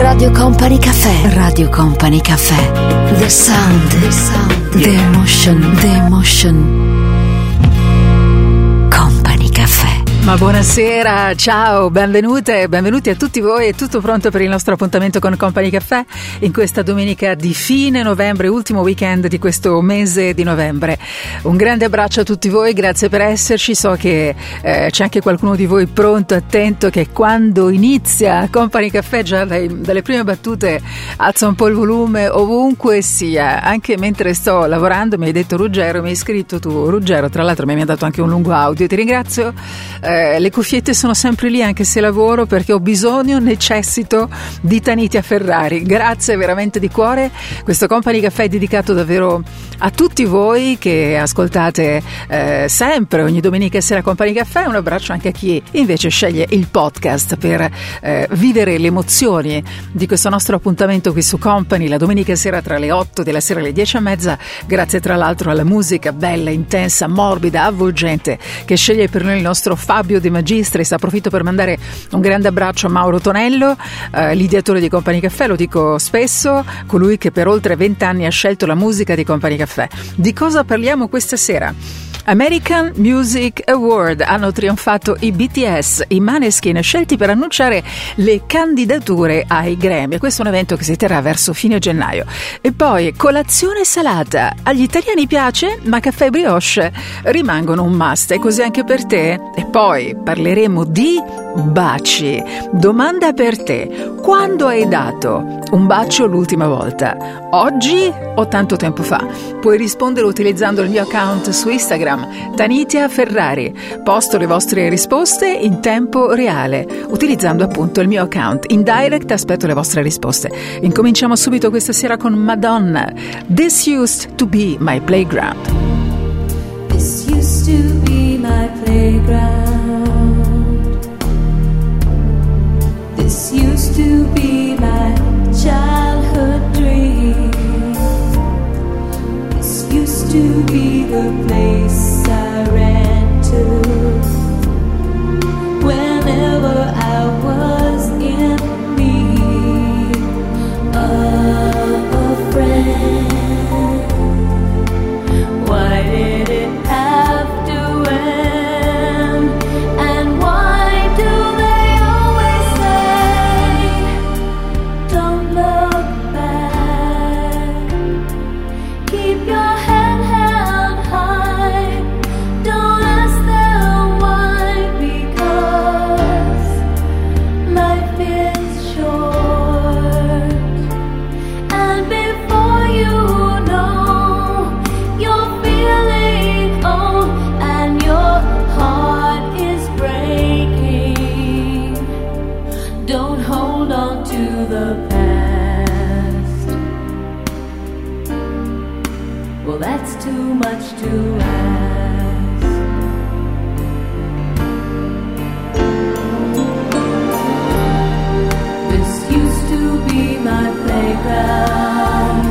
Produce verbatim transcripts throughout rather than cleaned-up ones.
Radio Company Cafè. Radio Company Cafè. The sound. The sound. The emotion. The emotion. Company Cafè. Ma buonasera, ciao, benvenute e benvenuti a tutti voi. È tutto pronto per il nostro appuntamento con Company Cafè in questa domenica di fine novembre, ultimo weekend di questo mese di novembre. Un grande abbraccio a tutti voi, grazie per esserci. So che eh, c'è anche qualcuno di voi pronto, attento, che quando inizia Company Cafè già dai, dalle prime battute alza un po' il volume ovunque sia. Anche mentre sto lavorando mi hai detto Ruggero, mi hai scritto tu Ruggero, tra l'altro mi hai mandato anche un lungo audio, ti ringrazio. Eh, le cuffiette sono sempre lì anche se lavoro, perché ho bisogno, necessito di Tanitia Ferrari. Grazie veramente di cuore. Questo Company Cafè è dedicato davvero a tutti voi che ascoltate eh, sempre ogni domenica sera Company Cafè. Un abbraccio anche a chi invece sceglie il podcast per eh, vivere le emozioni di questo nostro appuntamento qui su Company la domenica sera tra le otto della sera e le dieci e mezza. Grazie tra l'altro alla musica bella, intensa, morbida, avvolgente che sceglie per noi il nostro Fabio De Magistris. Approfitto per mandare un grande abbraccio a Mauro Tonello, eh, l'ideatore di Company Cafè, lo dico spesso, colui che per oltre vent'anni ha scelto la musica di Company Cafè. Di cosa parliamo questa sera? American Music Award, hanno trionfato i B T S, i Maneskin, scelti per annunciare le candidature ai Grammy. Questo è un evento che si terrà verso fine gennaio. E poi colazione salata, agli italiani piace, ma caffè e brioche rimangono un must, e così anche per te. E poi parleremo di baci. Domanda per te: quando hai dato un bacio l'ultima volta? Oggi o tanto tempo fa? Puoi rispondere utilizzando il mio account su Instagram, Tanitia Ferrari. Posto le vostre risposte in tempo reale utilizzando appunto il mio account. In direct aspetto le vostre risposte. Incominciamo subito questa sera con Madonna. This used to be my playground. This used to be my playground. This used to be my childhood dream. This used to be the place I ran to whenever I was in need of a friend. Why did it have to end? And why do they always say, don't look back, keep your head held high, don't ask them why, because life is short, and before you know, you're feeling old and your heart is breaking. Don't hold on to the past. Well, that's too much to ask. This used to be my playground.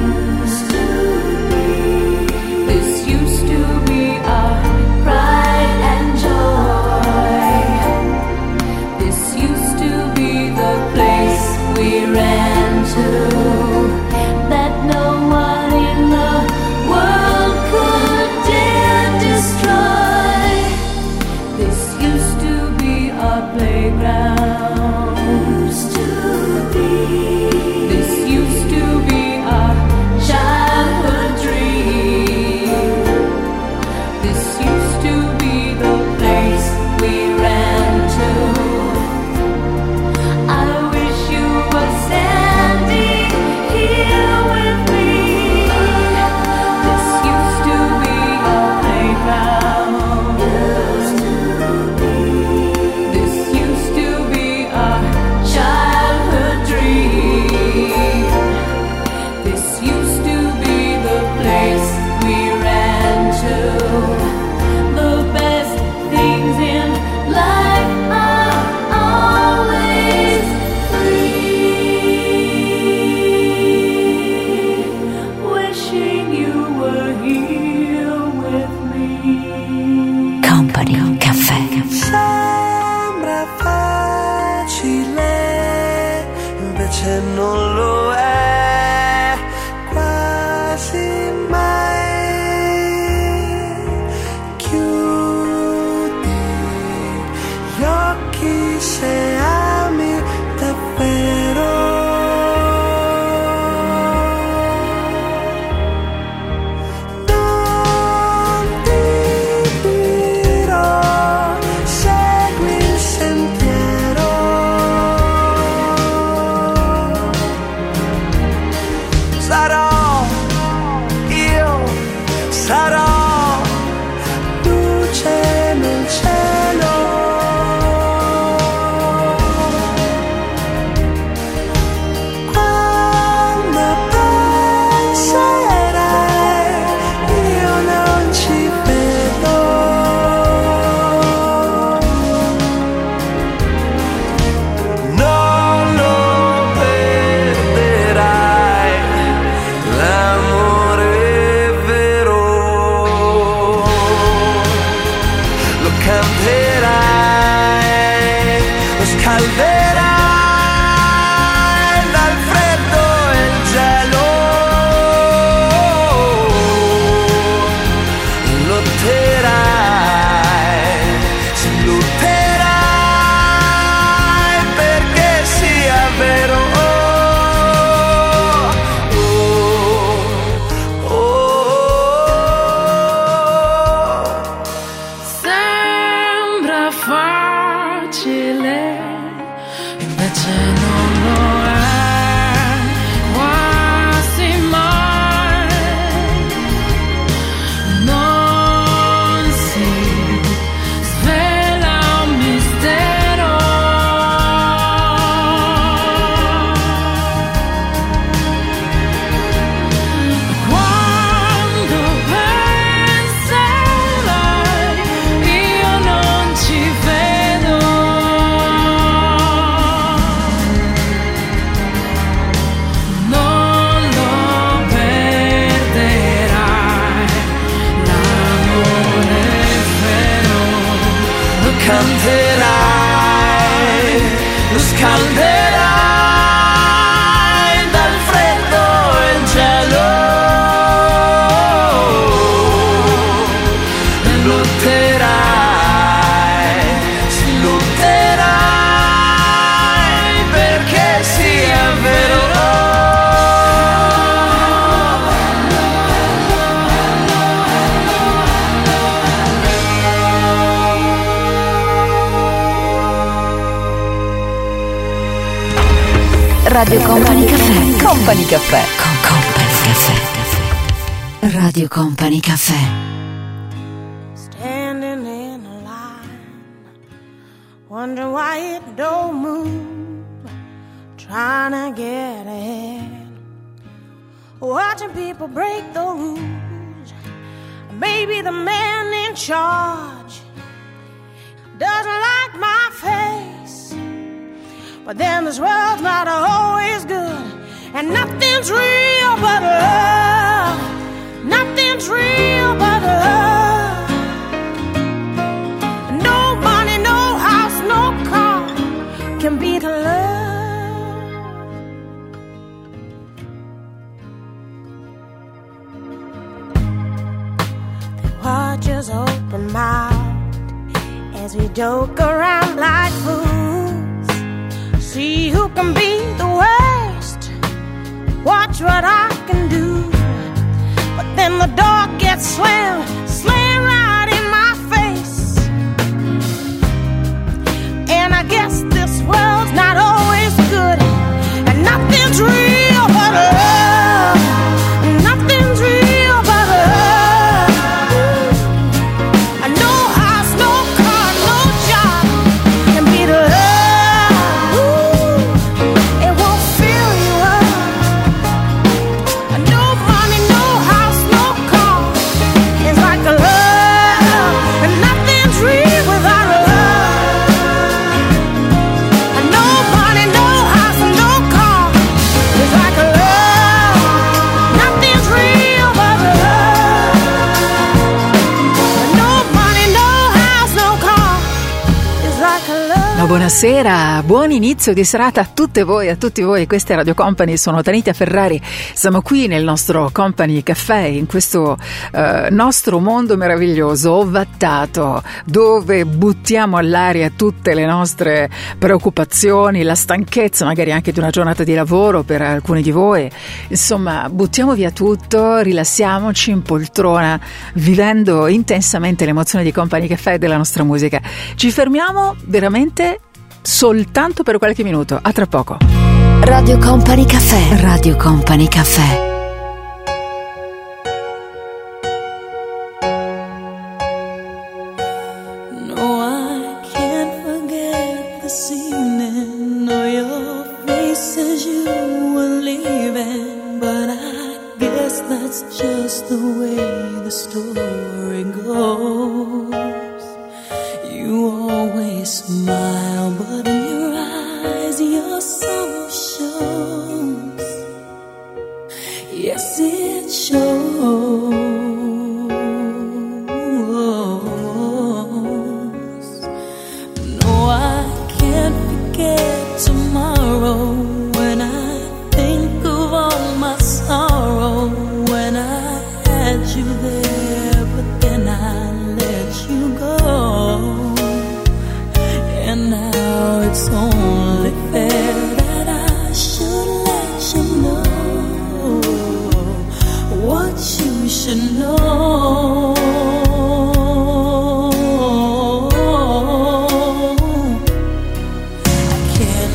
This used to be our pride and joy. This used to be the place we ran to, that no one in the world could dare destroy. This used to be our playground. Used to be. This used to be our childhood dream. This used to be the place we ran to. I wish you were standing invece non lo è quasi mai. Chiudi gli occhi se ami davvero. Radio Company Cafè. Company Cafè. Con Company Cafè. Radio Company Cafè. Standing in a line, wondering why it don't move, trying to get ahead, watching people break the rules. Maybe the man in charge doesn't like my face, but then this world's not always good, and nothing's real but love. Nothing's real but love. No money, no house, no car can beat love. They watch us open mouthed as we joke around like fools. See who can be the worst. Watch what I can do. But then the door gets slammed, slammed right in my face. And I guess this world's not always good, and nothing's real but love. Nothing's real but love. No house, no car, no job can beat love. Ooh, it won't fill you up. No money, no house, no car is like a love. And nothing's real without love. No money, no house, no car is like a love. Nothing's real but love. No money, no house, no car is like a love. No Buonasera, buon inizio di serata a tutte voi, a tutti voi. Questa è Radio Company, sono Tanita Ferrari. Siamo qui nel nostro Company Caffè, in questo eh, nostro mondo meraviglioso, ovattato, dove buttiamo all'aria tutte le nostre preoccupazioni, la stanchezza magari anche di una giornata di lavoro per alcuni di voi. Insomma, buttiamo via tutto, rilassiamoci in poltrona, vivendo intensamente l'emozione di Company Caffè e della nostra musica. Ci fermiamo veramente soltanto per qualche minuto, a tra poco. Radio Company Caffè. Radio Company Caffè. No, I can't forget this evening, or your face as you were leaving, but I guess that's just the way the story goes. You always smile, but in your eyes your soul shows. Yes, it shows. No, I can't forget tomorrow when I think of all my sorrow, when I had you there, but then I let you go. And now it's only fair that I should let you know what you should know. I can't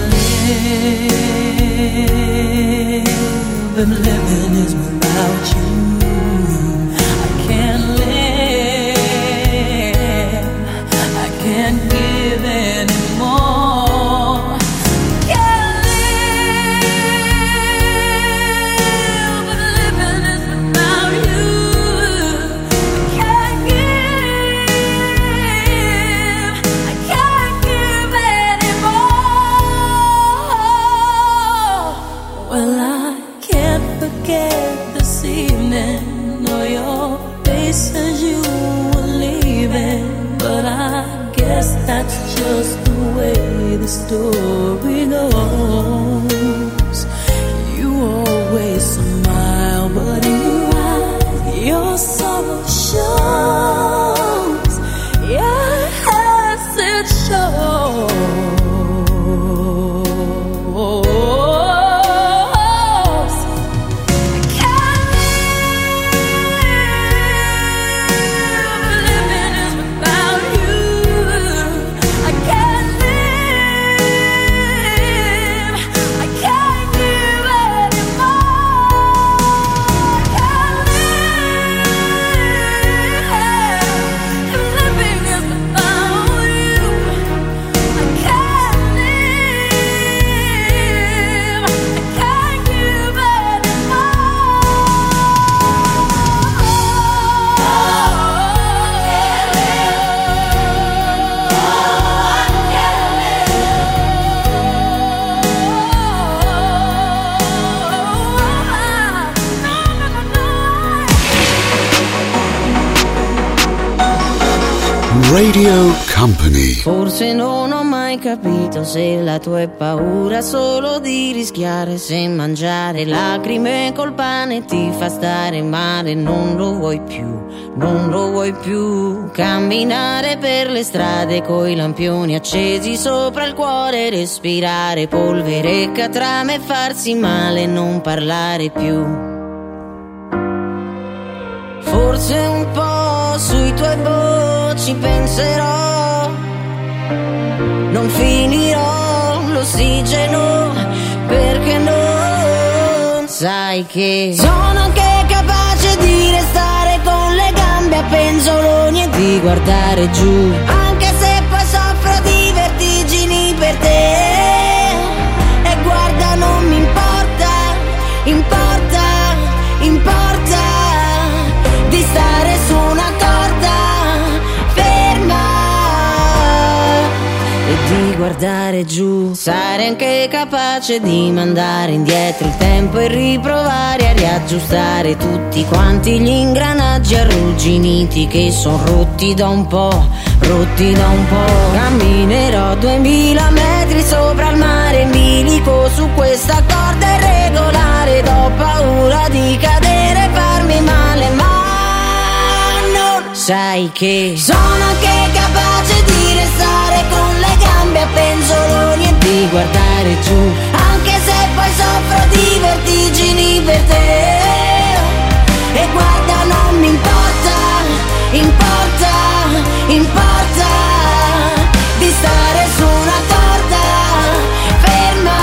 live, and living is without you. I can't live, I can't give in. That's just the way the story goes. You always smile, but in your eyes your sorrow shows. Yes, it shows. Radio Company. Forse non ho mai capito se la tua è paura solo di rischiare, se mangiare lacrime col pane ti fa stare male. Non lo vuoi più, non lo vuoi più. Camminare per le strade coi lampioni accesi sopra il cuore, respirare polvere, catrame e farsi male, non parlare più. Forse un po' sui tuoi ci penserò, non finirò l'ossigeno, perché non sai che sono anche capace di restare con le gambe a penzoloni e di guardare giù, anche se poi soffro di vertigini per te. E guarda, non mi importa, importa, importa di stare su una corda ferma e di guardare guardare giù. Sarei anche capace di mandare indietro il tempo e riprovare a riaggiustare tutti quanti gli ingranaggi arrugginiti che son rotti da un po', rotti da un po'. Camminerò duemila metri sopra il mare in bilico su questa corda irregolare. Ho paura di cadere e farmi male, ma non sai che sono anche capace di restare con le gambe a penzoloni e di guardare giù, anche se poi soffro di vertigini per te. E guarda, non mi importa, importa, importa di stare su una corda ferma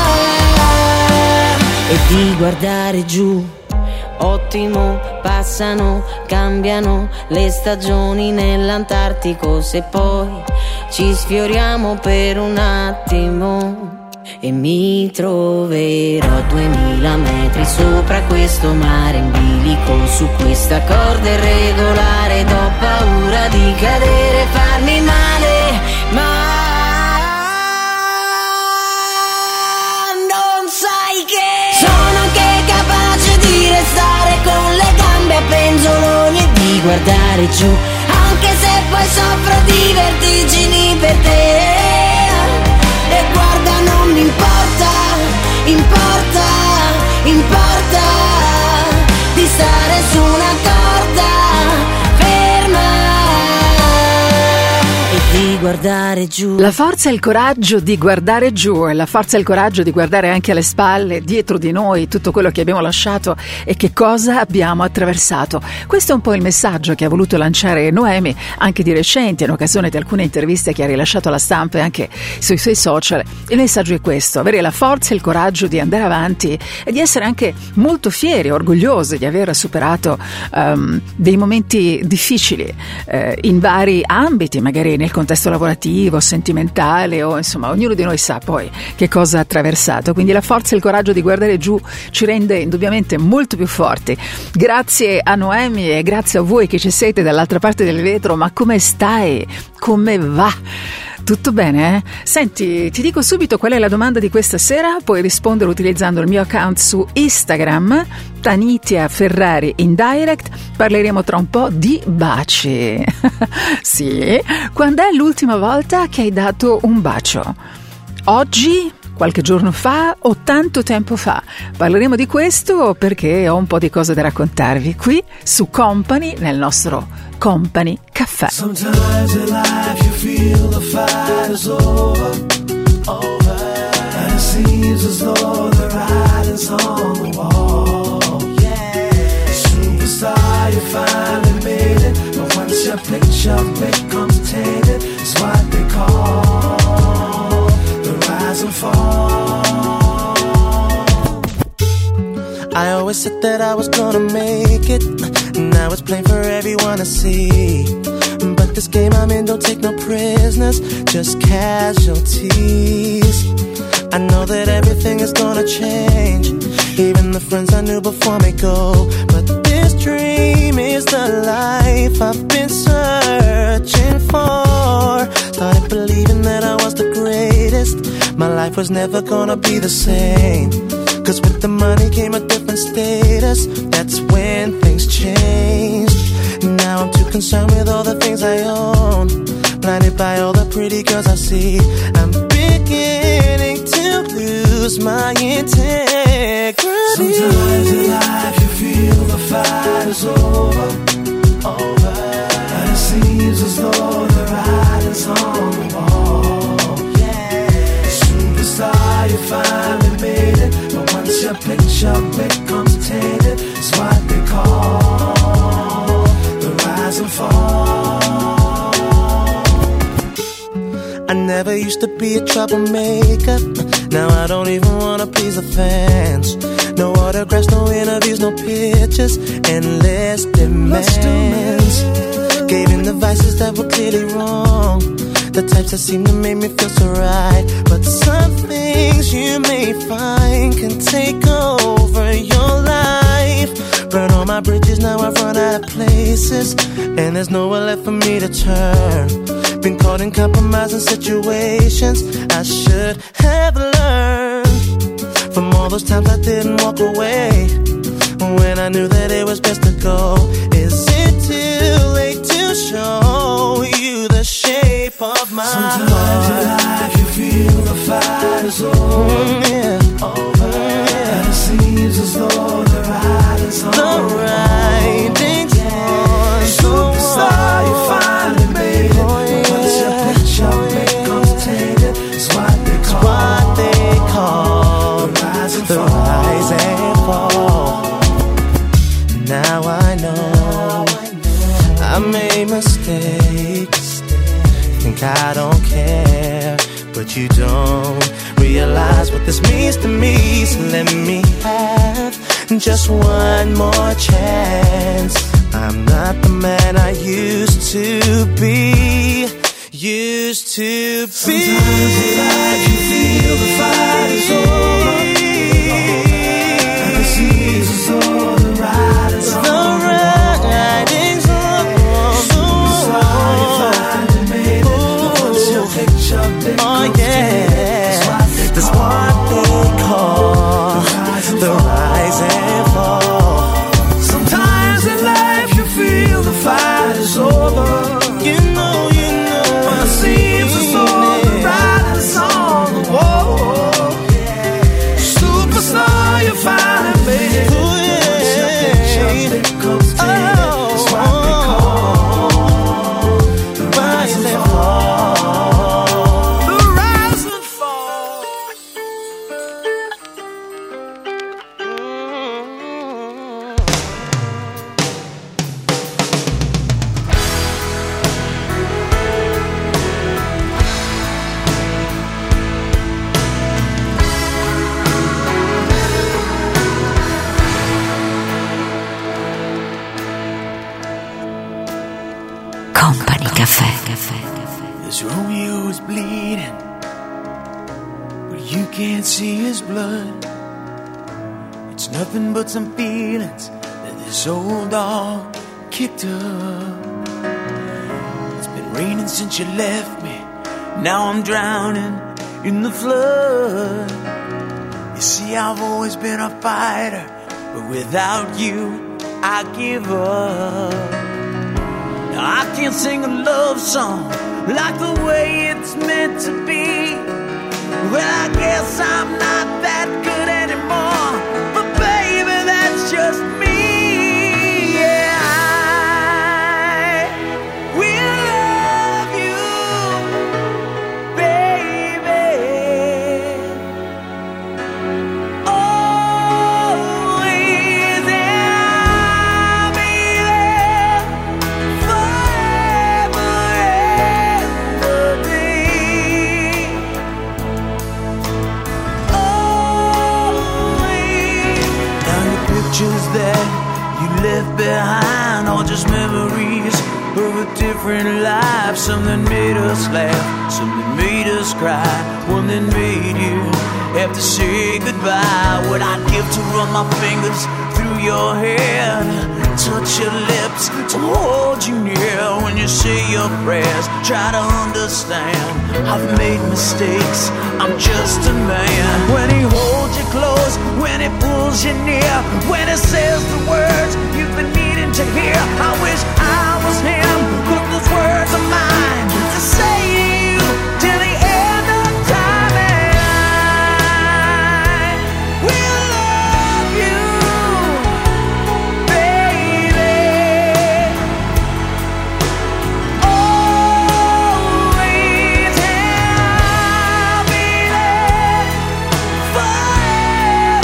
e di guardare giù. Ottimo, passano, cambiano le stagioni nell'Antartico. Se poi ci sfioriamo per un attimo e mi troverò duemila metri sopra questo mare in bilico su questa corda irregolare. Ho paura di cadere e farmi male, ma non sai che sono anche capace di restare con le gambe a penzoloni e di guardare giù, anche se poi soffro di vertigini per te. E guarda, non mi importa, importa, importa di stare su una corda ferma e di guardare giù. La forza e il coraggio di guardare giù e la forza e il coraggio di guardare anche alle spalle, dietro di noi, tutto quello che abbiamo lasciato e che cosa abbiamo attraversato. Questo è un po' il messaggio che ha voluto lanciare Noemi anche di recente, in occasione di alcune interviste che ha rilasciato alla stampa e anche sui suoi social. Il messaggio è questo: avere la forza e il coraggio di andare avanti e di essere anche molto fieri, orgogliosi di aver superato um, dei momenti difficili eh, in vari ambiti, magari nel contesto lavorativo, sentimentale, o insomma ognuno di noi sa poi che cosa ha attraversato. Quindi la forza e il coraggio di guardare giù ci rende indubbiamente molto più forti. Grazie a Noemi e grazie a voi che ci siete dall'altra parte del vetro. Ma come stai? Come va? Tutto bene, eh? Senti, ti dico subito qual è la domanda di questa sera. Puoi rispondere utilizzando il mio account su Instagram, Tanitia Ferrari in direct. Parleremo tra un po' di baci. Sì, quando è l'ultima volta che hai dato un bacio? Oggi? Qualche giorno fa o tanto tempo fa? Parleremo di questo perché ho un po' di cose da raccontarvi qui su Company, nel nostro Company Caffè. Sometimes in life you feel the fight is over, over, and it seems as though the writing's on the wall. Yeah, superstar, you finally made it, but once your picture becomes tainted, it's what they call the rise and fall. I always said that I was gonna make it, now it's plain for everyone to see. But this game I'm in don't take no prisoners, just casualties. I know that everything is gonna change, even the friends I knew before me go. But this dream is the life I've been searching for. Started believing that I was the greatest, my life was never gonna be the same. Cause with the money came a different status, that's when things changed. Now I'm too concerned with all the things I own, blinded by all the pretty girls I see. I'm beginning to lose my integrity. Sometimes in life you feel the fight is over, over, and it seems as though the writing's on the wall. Yeah, superstar, you finally made it, but once your picture becomes tainted, it's what they call the rise and fall. I never used to be a troublemaker, now I don't even wanna please the fans. No autographs, no interviews, no pictures, endless demands. Gave in the vices that were clearly wrong, the types that seem to make me feel so right. But some things you may find can take over your life. Burn all my bridges, now I've run out of places, and there's nowhere left for me to turn. Been caught in compromising situations I should have learned from all those times I didn't walk away when I knew that it was best to go. Is it too late to show you the shape of my Sometimes heart? in life you feel the fight is over, mm, yeah. over yeah. And it seems as though the writing's on the writing's on. Superstar, you finally made it. But once your picture becomes tainted, it's what they call, what they call the rise and the fall. Rise and fall. Now I know I made mistakes. Think I don't care, but you don't realize what this means to me. So let me have just one more chance. I'm not the man I used to be. Used to be. Sometimes in life you feel the fight is over, and it seems as though the writing's on. The writing's on. Superstar, you finally made it. But once your picture becomes Oh yeah, that's what they call the rise and fall. Sometimes in life you feel the fight is over. You know, you know, And it seems as though the writing's on the wall. Superstar, you finally made it. Ooh, yeah. Once your picture becomes tainted, it's what they call the rise and fall. The rise and fall. Company Café. This Romeo is bleeding, but you can't see his blood. It's nothing but some feelings that this old dog kicked up. It's been raining since you left me. Now I'm drowning in the flood. You see, I've always been a fighter, but without you, I give up. Now I can't sing a love song like the way it's meant to be. Well, I guess I'm not that good anymore, but baby, that's just me. Yeah, I will love you, baby, always, and I'll be there forever and a day. Always. Now your pictures that you left behind are just memories of a different life. Some that made us laugh, some that made us cry, one that made you have to say goodbye. What I'd give to run my fingers through your hair, touch your lips, to hold you near when you say your prayers. Try to understand, I've made mistakes, I'm just a man. When he holds you close, when he pulls you near, when he says the words you've been needing to hear. I wish I was him, but those words are mine to say to you till the end of time. And I will love you, baby, always, and I'll be there forever.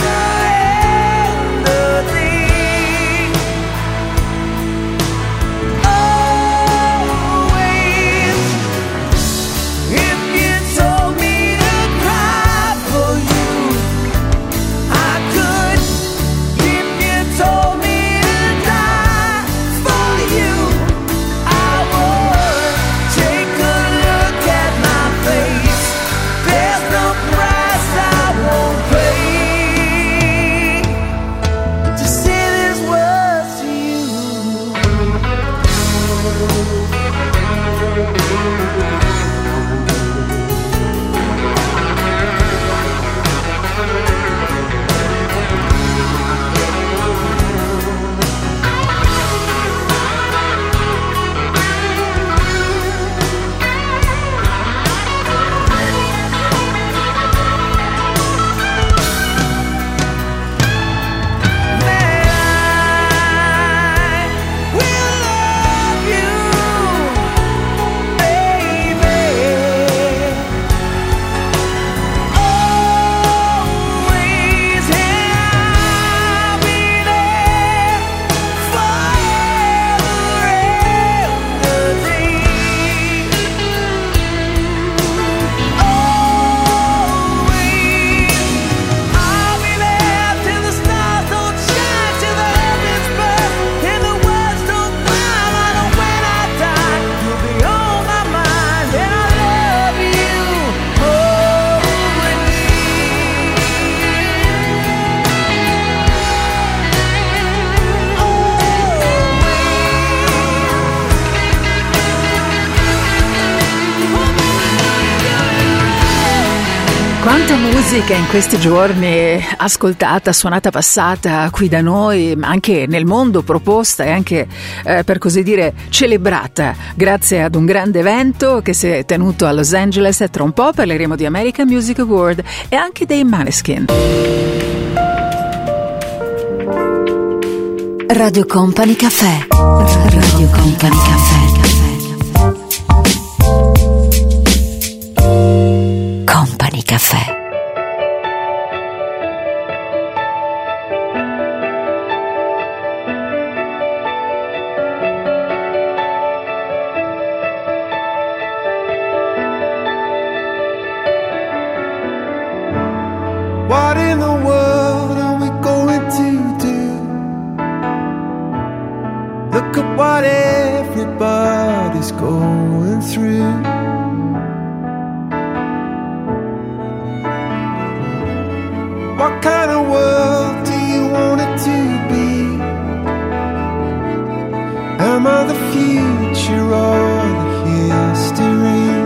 Quanta musica in questi giorni ascoltata, suonata, passata qui da noi, ma anche nel mondo, proposta e anche eh, per così dire celebrata grazie ad un grande evento che si è tenuto a Los Angeles, e tra un po' parleremo di American Music Award e anche dei Maneskin. Radio Company Cafè. Radio Company Cafè. Company Cafè. What in the world are we going to do? Look at what everybody's going through. What kind of world do you want it to be? Am I the future or the history?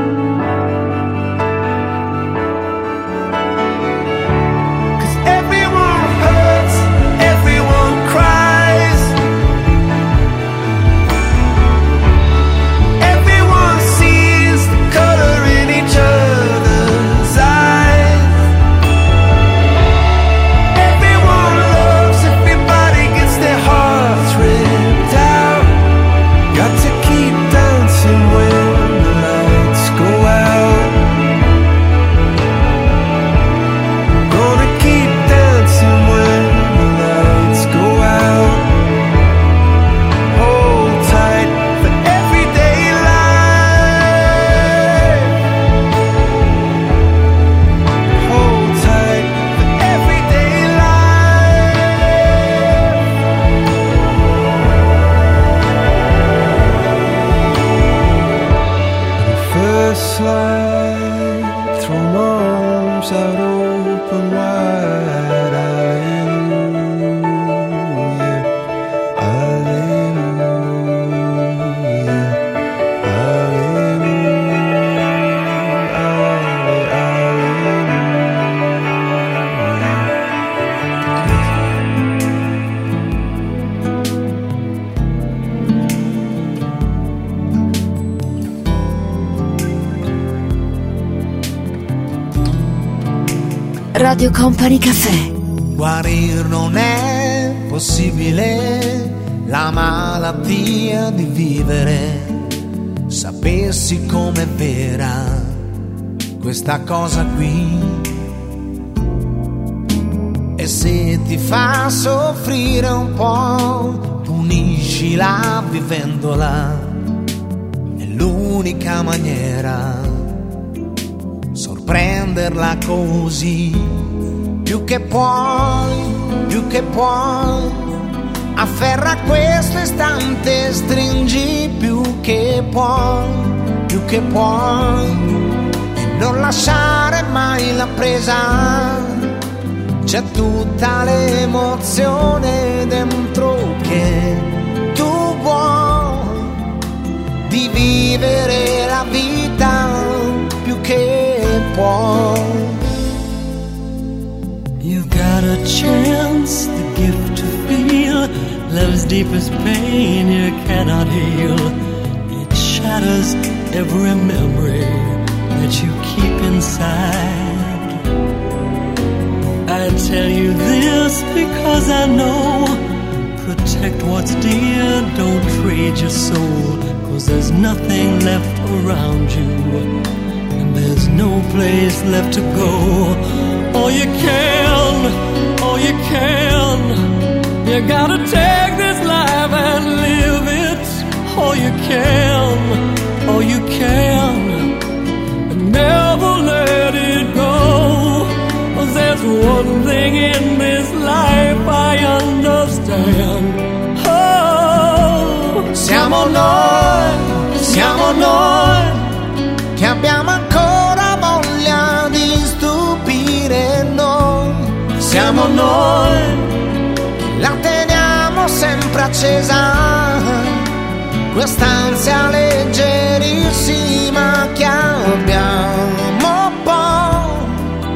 Radio Company Cafè. Guarir non è possibile, la malattia di vivere. Sapessi com'è vera questa cosa qui. E se ti fa soffrire un po', puniscila vivendola. È l'unica maniera, sorprenderla così. Più che puoi, più che puoi, afferra questo istante, stringi più che puoi, più che puoi, e non lasciare mai la presa. C'è tutta l'emozione dentro che tu vuoi, di vivere la vita più che puoi. You've got a chance, the gift to feel love's deepest pain you cannot heal. It shatters every memory that you keep inside. I tell you this because I know, protect what's dear, don't trade your soul, 'cause there's nothing left around you, and there's no place left to go. All you can, all you can, you gotta take this life and live it. All you can, all you can, and never let it go. 'Cause there's one thing in this life I understand. Oh, siamo noi, siamo noi, che abbiamo ancora voglia di stupire noi. Siamo noi, la teniamo sempre accesa, quest'ansia leggerissima che abbiamo poi,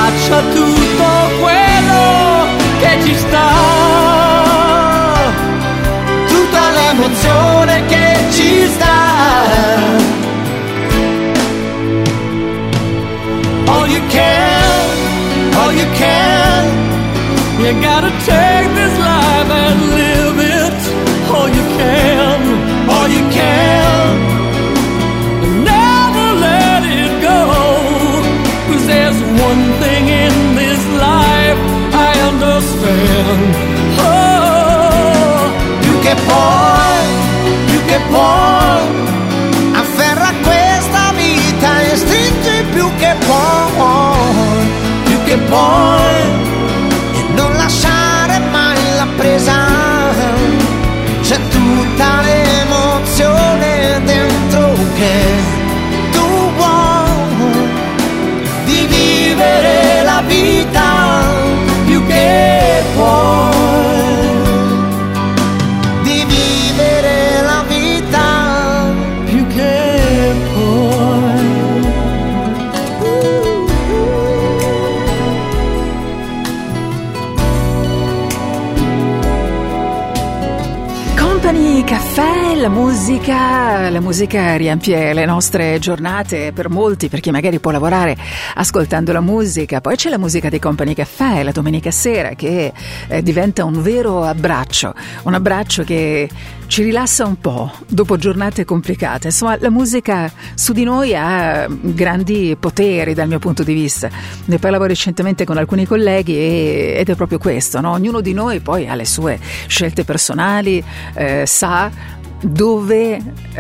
abbraccia tutto quello che ci sta, tutta l'emozione che ci sta. All you can, all you can, you gotta take this life and live it. All you can, all you can, never let it go. 'Cause there's one thing in this life I understand. Oh, più che puoi, più che puoi, afferra questa vita e stringi più che puoi, più che puoi, e non lasciare mai la presa. C'è tutta l'emozione dentro che tu vuoi, di vivere la vita più che puoi, di vivere la vita più che puoi. Company Caffè, la musica, la musica riempie le nostre giornate per molti, per chi magari può lavorare ascoltando la musica. Poi c'è la musica di Company Caffè la domenica sera che eh, diventa un vero abbraccio, un abbraccio che ci rilassa un po' dopo giornate complicate. Insomma, la musica su di noi ha grandi poteri dal mio punto di vista. Ne parlavo recentemente con alcuni colleghi e, ed è proprio questo, no? Ognuno di noi poi ha le sue scelte personali, eh, sa dove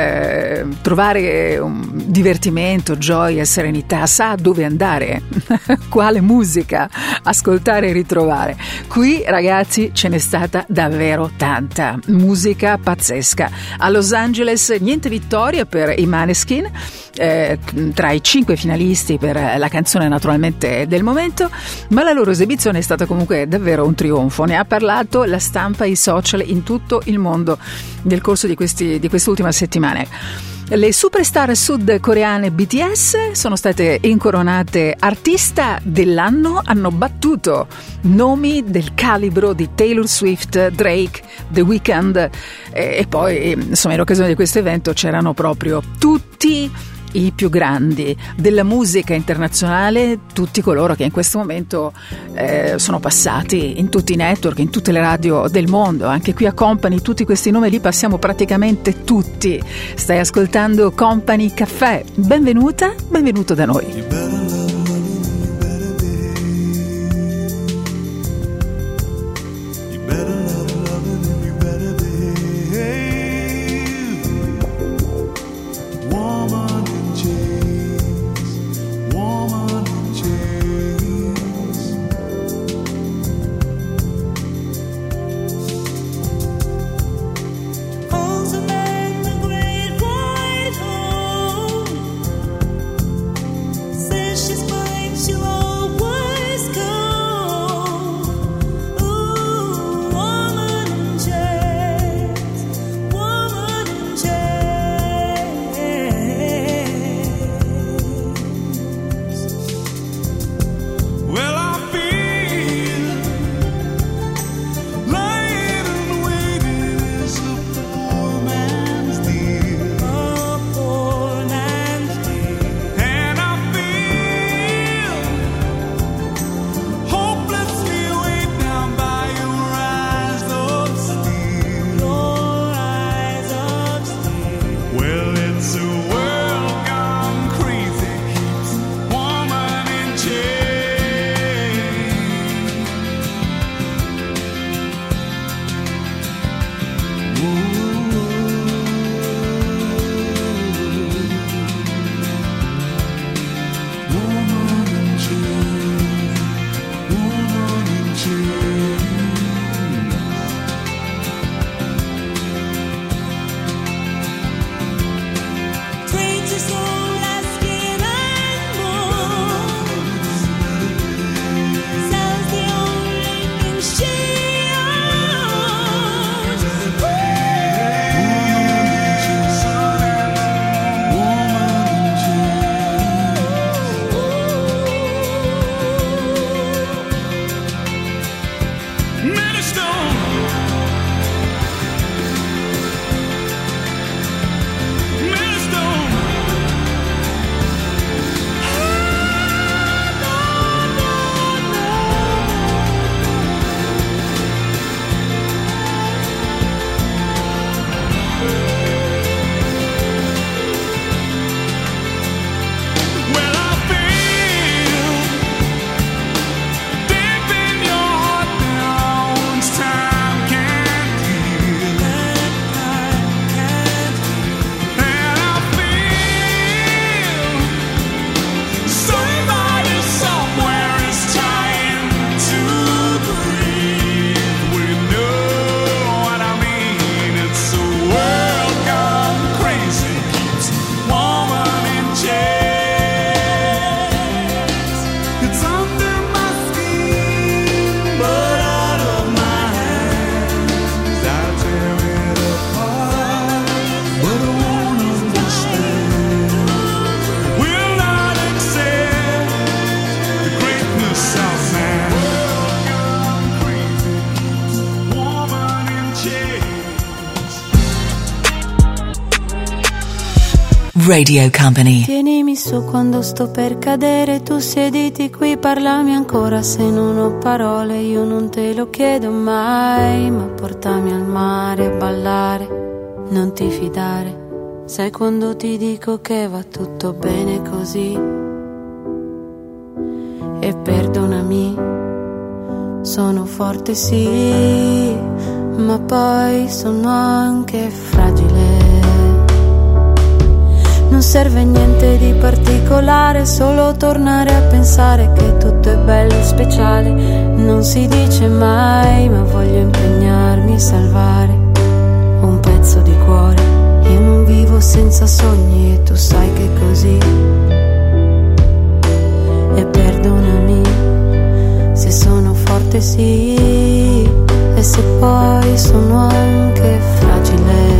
eh, trovare un divertimento, gioia, serenità, sa dove andare, quale musica ascoltare e ritrovare. Qui, ragazzi, ce n'è stata davvero tanta musica pazzesca. A Los Angeles niente vittoria per i Maneskin, eh, tra i cinque finalisti per la canzone naturalmente del momento, ma la loro esibizione è stata comunque davvero un trionfo. Ne ha parlato la stampa e i social in tutto il mondo nel corso di questi di quest'ultima settimana. Le superstar sudcoreane B T S sono state incoronate artista dell'anno, hanno battuto nomi del calibro di Taylor Swift, Drake, The Weeknd, e, e poi insomma in occasione di questo evento c'erano proprio tutti i più grandi della musica internazionale, tutti coloro che in questo momento eh, sono passati in tutti i network, in tutte le radio del mondo. Anche qui a Company tutti questi nomi li passiamo praticamente tutti. Stai ascoltando Company Caffè, benvenuta, benvenuto da noi. Say Radio Company. Tienimi su quando sto per cadere, tu siediti qui, parlami ancora se non ho parole, io non te lo chiedo mai, ma portami al mare a ballare, non ti fidare, sai quando ti dico che va tutto bene così, e perdonami, sono forte sì, ma poi sono anche fragile. Non serve niente di particolare, solo tornare a pensare che tutto è bello e speciale. Non si dice mai, ma voglio impegnarmi a salvare un pezzo di cuore. Io non vivo senza sogni e tu sai che è così. E perdonami se sono forte sì, e se poi sono anche fragile.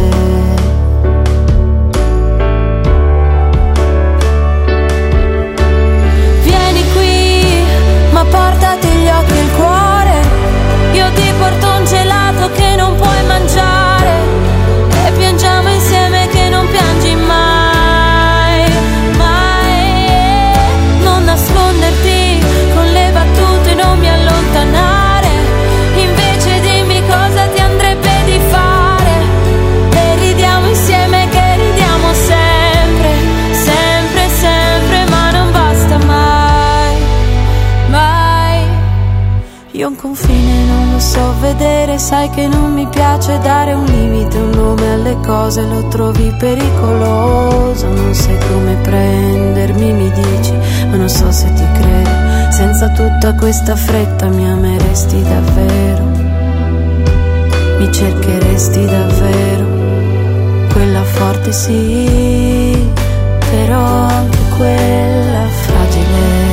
Portati gli occhi e il cuore, io ti porto un gelato che non puoi mangiare, e piangiamo insieme che non piangi mai, mai. Non nasconderti con le battute, non mi allontanare, invece dimmi cosa ti andrebbe di fare, e ridiamo insieme che ridiamo sempre, sempre, sempre, ma non basta mai. Io un confine non lo so vedere, sai che non mi piace dare un limite, un nome alle cose, lo trovi pericoloso, non sai come prendermi, mi dici, ma non so se ti credo, senza tutta questa fretta mi ameresti davvero, mi cercheresti davvero, quella forte sì, però anche quella fragile.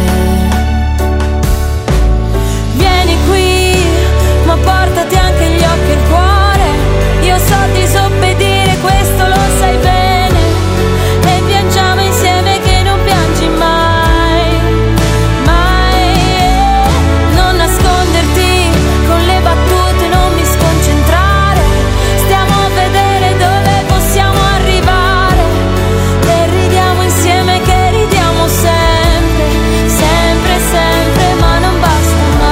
Ma portati anche gli occhi e il cuore, io so disobbedire, questo lo sai bene, e piangiamo insieme che non piangi mai, mai. Non nasconderti con le battute, non mi sconcentrare, stiamo a vedere dove possiamo arrivare, e ridiamo insieme che ridiamo sempre, sempre, sempre, ma non basta mai.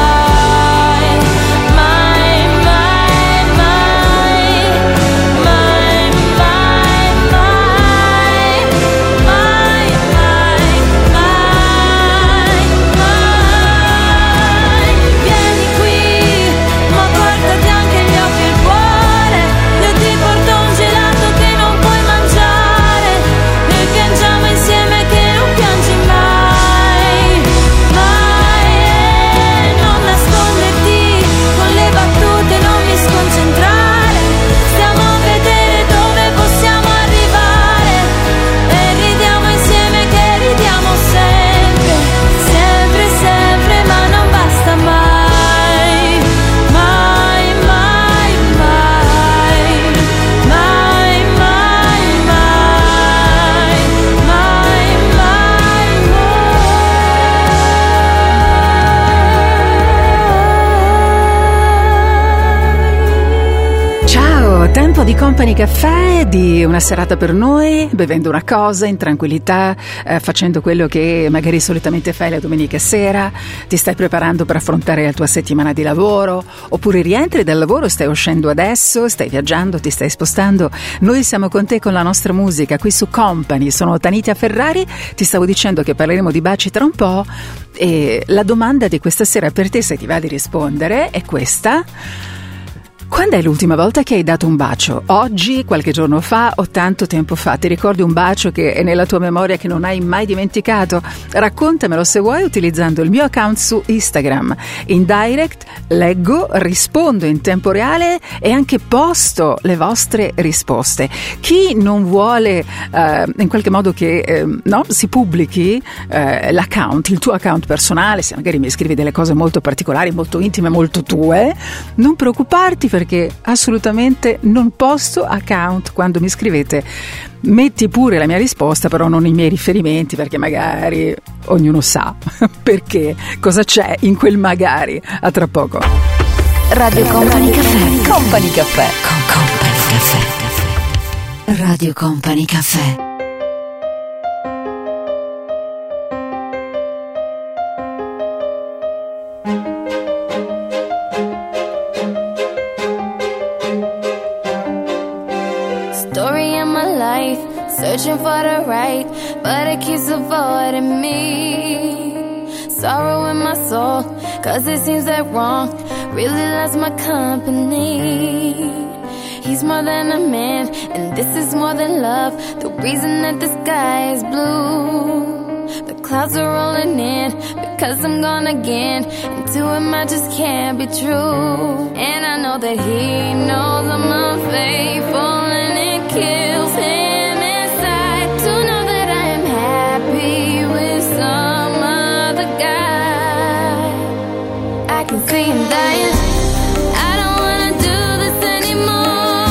Tempo di Company Caffè, di una serata per noi, bevendo una cosa in tranquillità, eh, facendo quello che magari solitamente fai la domenica sera, ti stai preparando per affrontare la tua settimana di lavoro, oppure rientri dal lavoro, stai uscendo adesso, stai viaggiando, ti stai spostando. Noi siamo con te con la nostra musica qui su Company. Sono Tanitia Ferrari, ti stavo dicendo che parleremo di baci tra un po', e la domanda di questa sera per te, se ti va di rispondere, è questa: quando è l'ultima volta che hai dato un bacio? Oggi, qualche giorno fa o tanto tempo fa? Ti ricordi un bacio che è nella tua memoria, che non hai mai dimenticato? Raccontamelo se vuoi utilizzando il mio account su Instagram. In direct leggo, rispondo in tempo reale e anche posto le vostre risposte. Chi non vuole eh, in qualche modo che eh, no, si pubblichi eh, l'account, il tuo account personale, se magari mi scrivi delle cose molto particolari, molto intime, molto tue, non preoccuparti, perché assolutamente non posto account quando mi scrivete. Metti pure la mia risposta, però non i miei riferimenti, perché magari ognuno sa perché, cosa c'è in quel magari. A tra poco. Radio Company Caffè. Company Caffè. Con Company Caffè. Radio Company Caffè. story of my life, searching for the right, but it keeps avoiding me. Sorrow in my soul, cause it seems that wrong really loves my company. He's more than a man, and this is more than love. The reason that the sky is blue, the clouds are rolling in, because I'm gone again, and to him I just can't be true. And I know that he knows I'm unfaithful, and it kills him inside to know that I am happy with some other guy. I can see him dying. I don't wanna do this anymore.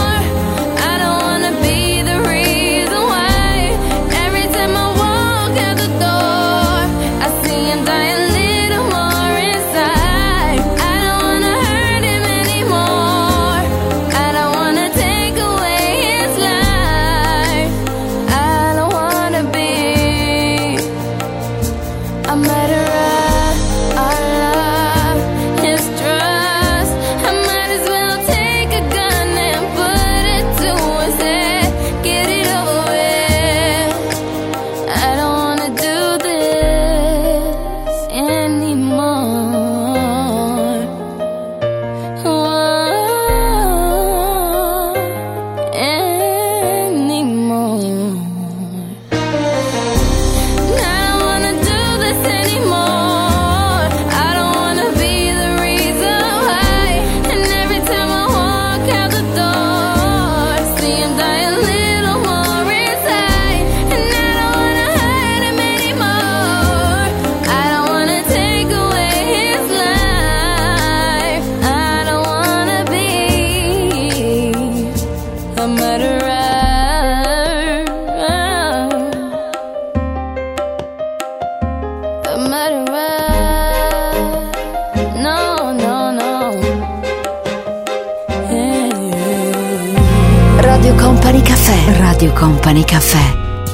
Radio Company Caffè.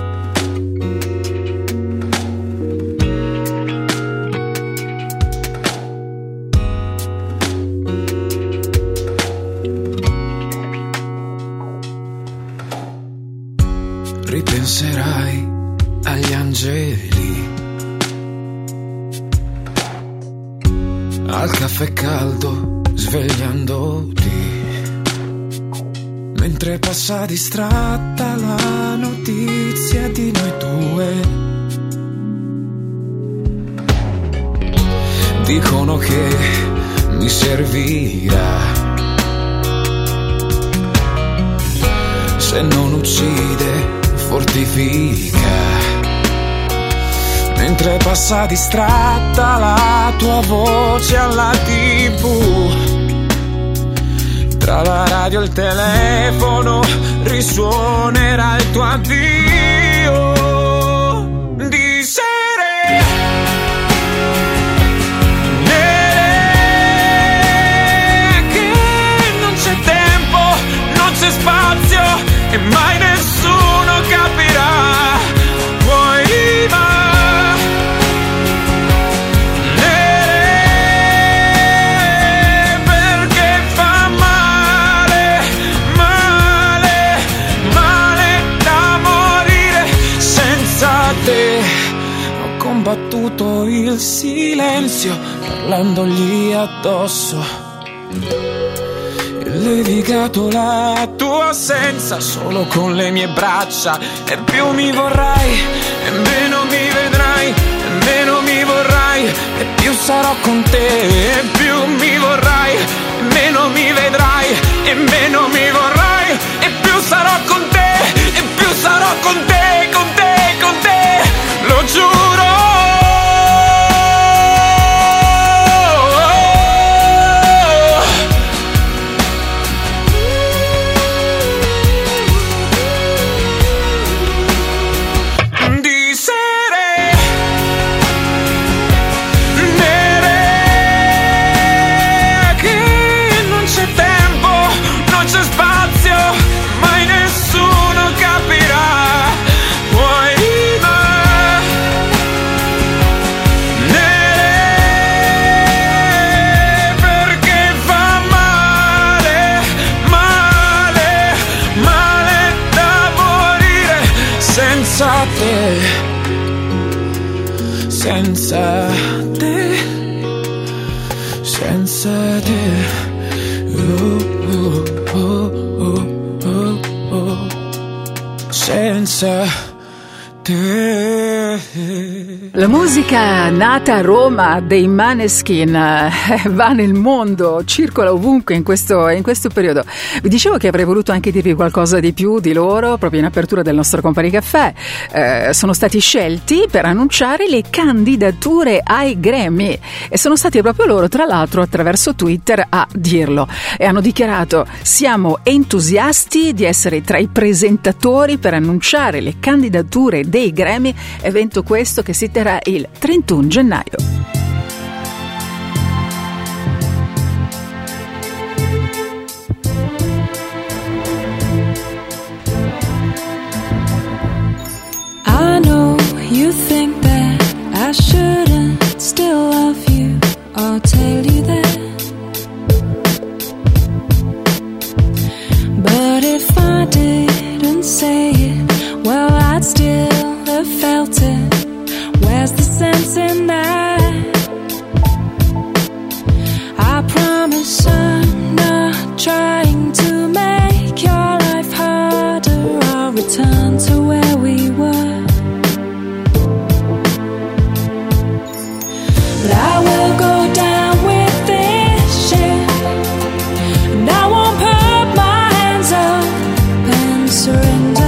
Ripenserai agli angeli, al caffè caldo svegliandoti, mentre passa distratta la notizia di noi due. Dicono che mi servirà, se non uccide fortifica, mentre passa distratta la tua voce alla tivù. Tra la radio e il telefono risuonerà il tuo addio di sere. Nere, che non c'è tempo, non c'è spazio e mai nessuno capirà. Poi va. Combattuto il silenzio parlandogli addosso, e levigato la tua assenza solo con le mie braccia. E più mi vorrai e meno mi vedrai, e meno mi vorrai e più sarò con te. E più mi vorrai e meno mi vedrai, e meno mi vorrai e più sarò con te. E più sarò con te, con te, con te, lo giuro. Spazio te, senza te, senza te. Oh, oh, oh, oh, oh, oh. Senza te. La musica nata a Roma dei Maneskin eh, va nel mondo, circola ovunque in questo, in questo periodo. Vi dicevo che avrei voluto anche dirvi qualcosa di più di loro proprio in apertura del nostro Company Caffè. Eh, sono stati scelti per annunciare le candidature ai Grammy e sono stati proprio loro, tra l'altro, attraverso Twitter a dirlo, e hanno dichiarato: siamo entusiasti di essere tra i presentatori per annunciare le candidature dei Grammy, evento questo che si terrà il trentuno gennaio. I know you think that I shouldn't still love you or tell you that, but if I didn't say it, well, I'd still have felt it. Where's the sense in that? I promise I'm not trying to make your life harder. I'll return to where we were. But I will go down with this ship, and I won't put my hands up and surrender.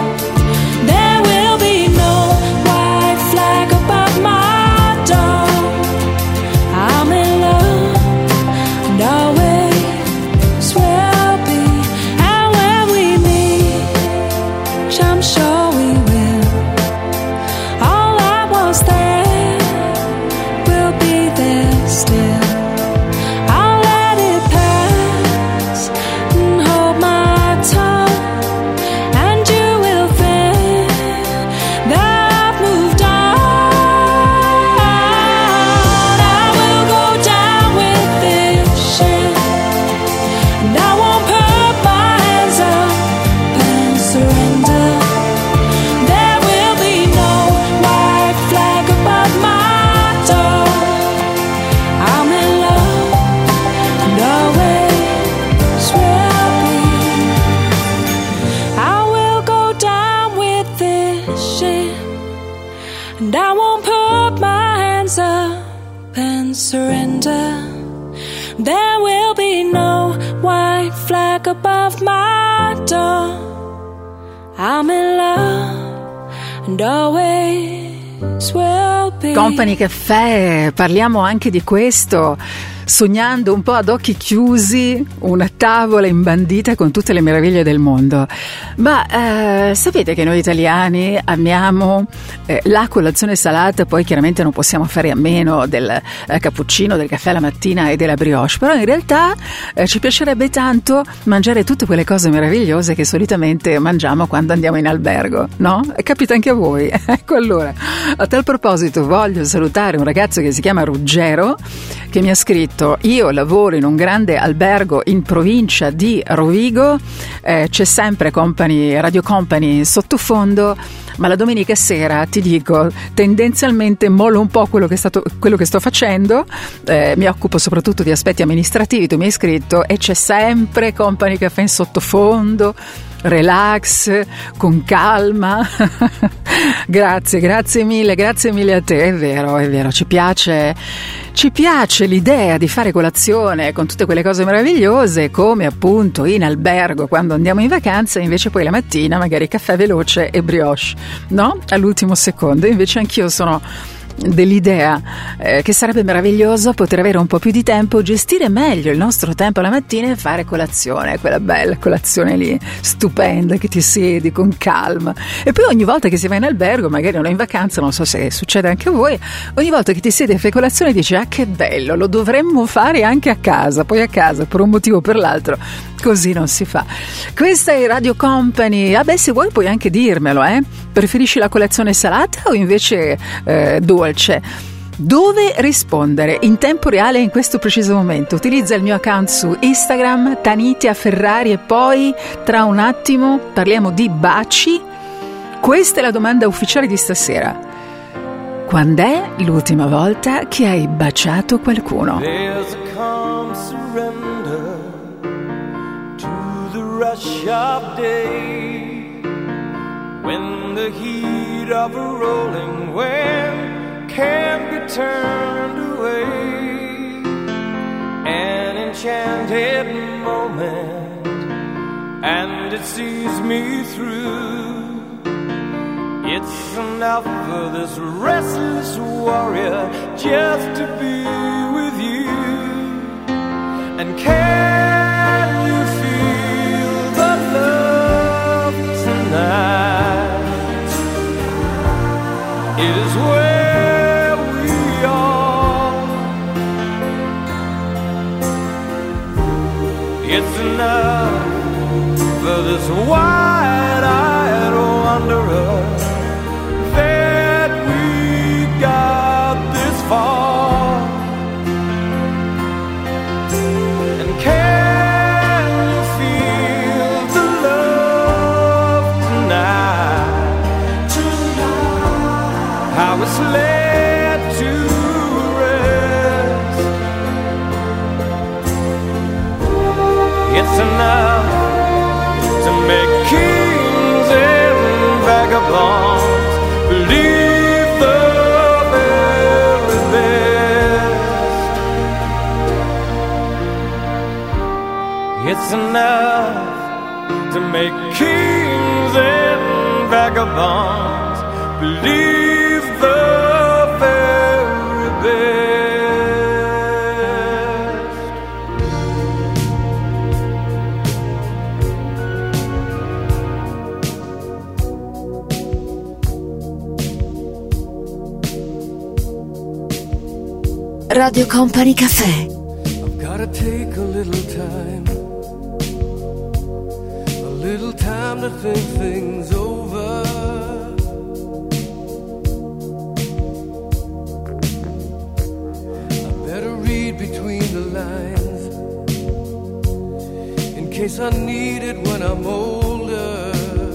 Above my door, I'm in love and always will be. Company Caffè, parliamo anche di questo, sognando un po' ad occhi chiusi una tavola imbandita con tutte le meraviglie del mondo. Ma eh, sapete che noi italiani amiamo eh, la colazione salata, poi chiaramente non possiamo fare a meno del eh, cappuccino, del caffè la mattina e della brioche, però in realtà eh, ci piacerebbe tanto mangiare tutte quelle cose meravigliose che solitamente mangiamo quando andiamo in albergo, no? E capita anche a voi. Ecco, allora, a tal proposito voglio salutare un ragazzo che si chiama Ruggero, che mi ha scritto: io lavoro in un grande albergo in provincia di Rovigo, eh, c'è sempre Company, Radio Company in sottofondo, ma la domenica sera, ti dico, tendenzialmente mollo un po' quello che, è stato, quello che sto facendo, eh, mi occupo soprattutto di aspetti amministrativi, tu mi hai scritto, e c'è sempre Company Caffè in sottofondo, relax, con calma. Grazie, grazie mille, grazie mille a te. È vero, è vero, ci piace, ci piace l'idea di fare colazione con tutte quelle cose meravigliose, come appunto in albergo quando andiamo in vacanza, invece poi la mattina magari caffè veloce e brioche, no? All'ultimo secondo. Invece anch'io sono dell'idea eh, che sarebbe meraviglioso poter avere un po' più di tempo, gestire meglio il nostro tempo la mattina e fare colazione, quella bella colazione lì stupenda che ti siedi con calma. E poi ogni volta che si va in albergo, magari non in vacanza, non so se succede anche a voi, ogni volta che ti siedi e fai colazione dici: ah, che bello, lo dovremmo fare anche a casa. Poi a casa per un motivo o per l'altro così non si fa. Questa è Radio Company. Ah beh, se vuoi puoi anche dirmelo, eh? Preferisci la colazione salata o invece eh, dolce? Dove rispondere in tempo reale in questo preciso momento? Utilizza il mio account su Instagram, Tanitia Ferrari, e poi tra un attimo parliamo di baci Questa è la domanda ufficiale di stasera. Quand'è l'ultima volta che hai baciato qualcuno? There's a calm surrender to the rush of day, when the heat of a rolling wave can't be turned away. An enchanted moment, and it sees me through. It's enough for this restless warrior just to be with you. And can you feel the love tonight? It is where we are. It's enough for this wide-eyed wanderer that we got this far. And can you feel the love tonight? Tonight, how it's laid to rest. It's enough to make kings and vagabonds believe the very best. It's enough to make kings and vagabonds believe the very best. Radio Company Café. I've gotta take a little time, a little time to think things over. I better read between the lines, in case I need it when I'm older.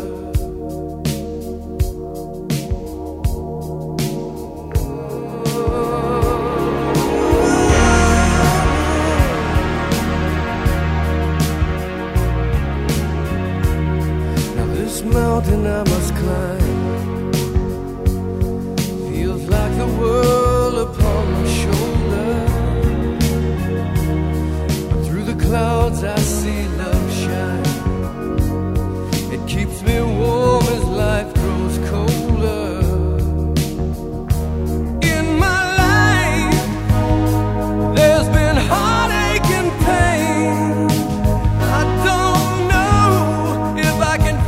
Mountain I must climb feels like the world upon my shoulder. But through the clouds I see love shine. It keeps me warm as life grows colder. In my life there's been heartache and pain. I don't know if I can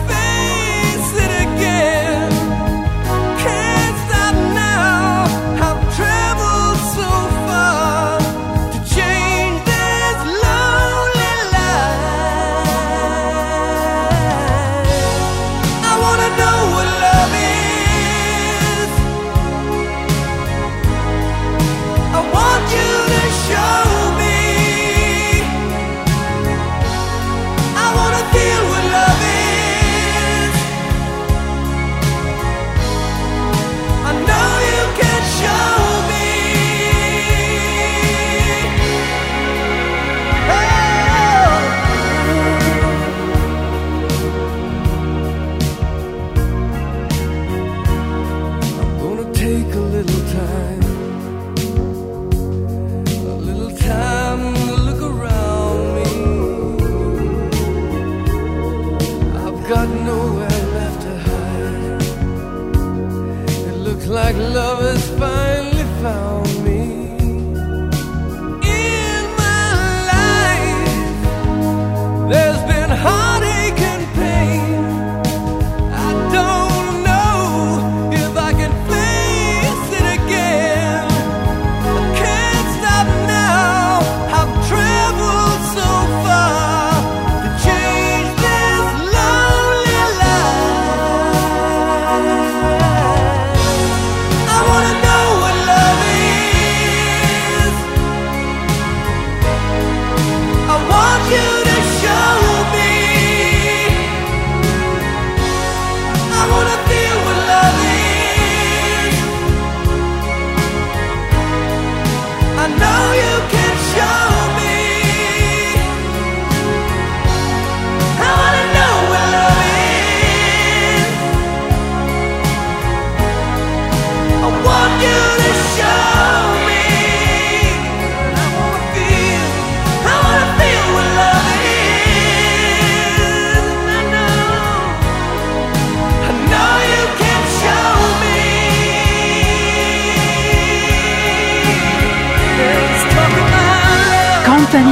like love has finally found me. In my life there's been heartache and pain. I don't know if I can face it again. I can't stop now. I've traveled so far to change this lonely life. I wanna know what love is.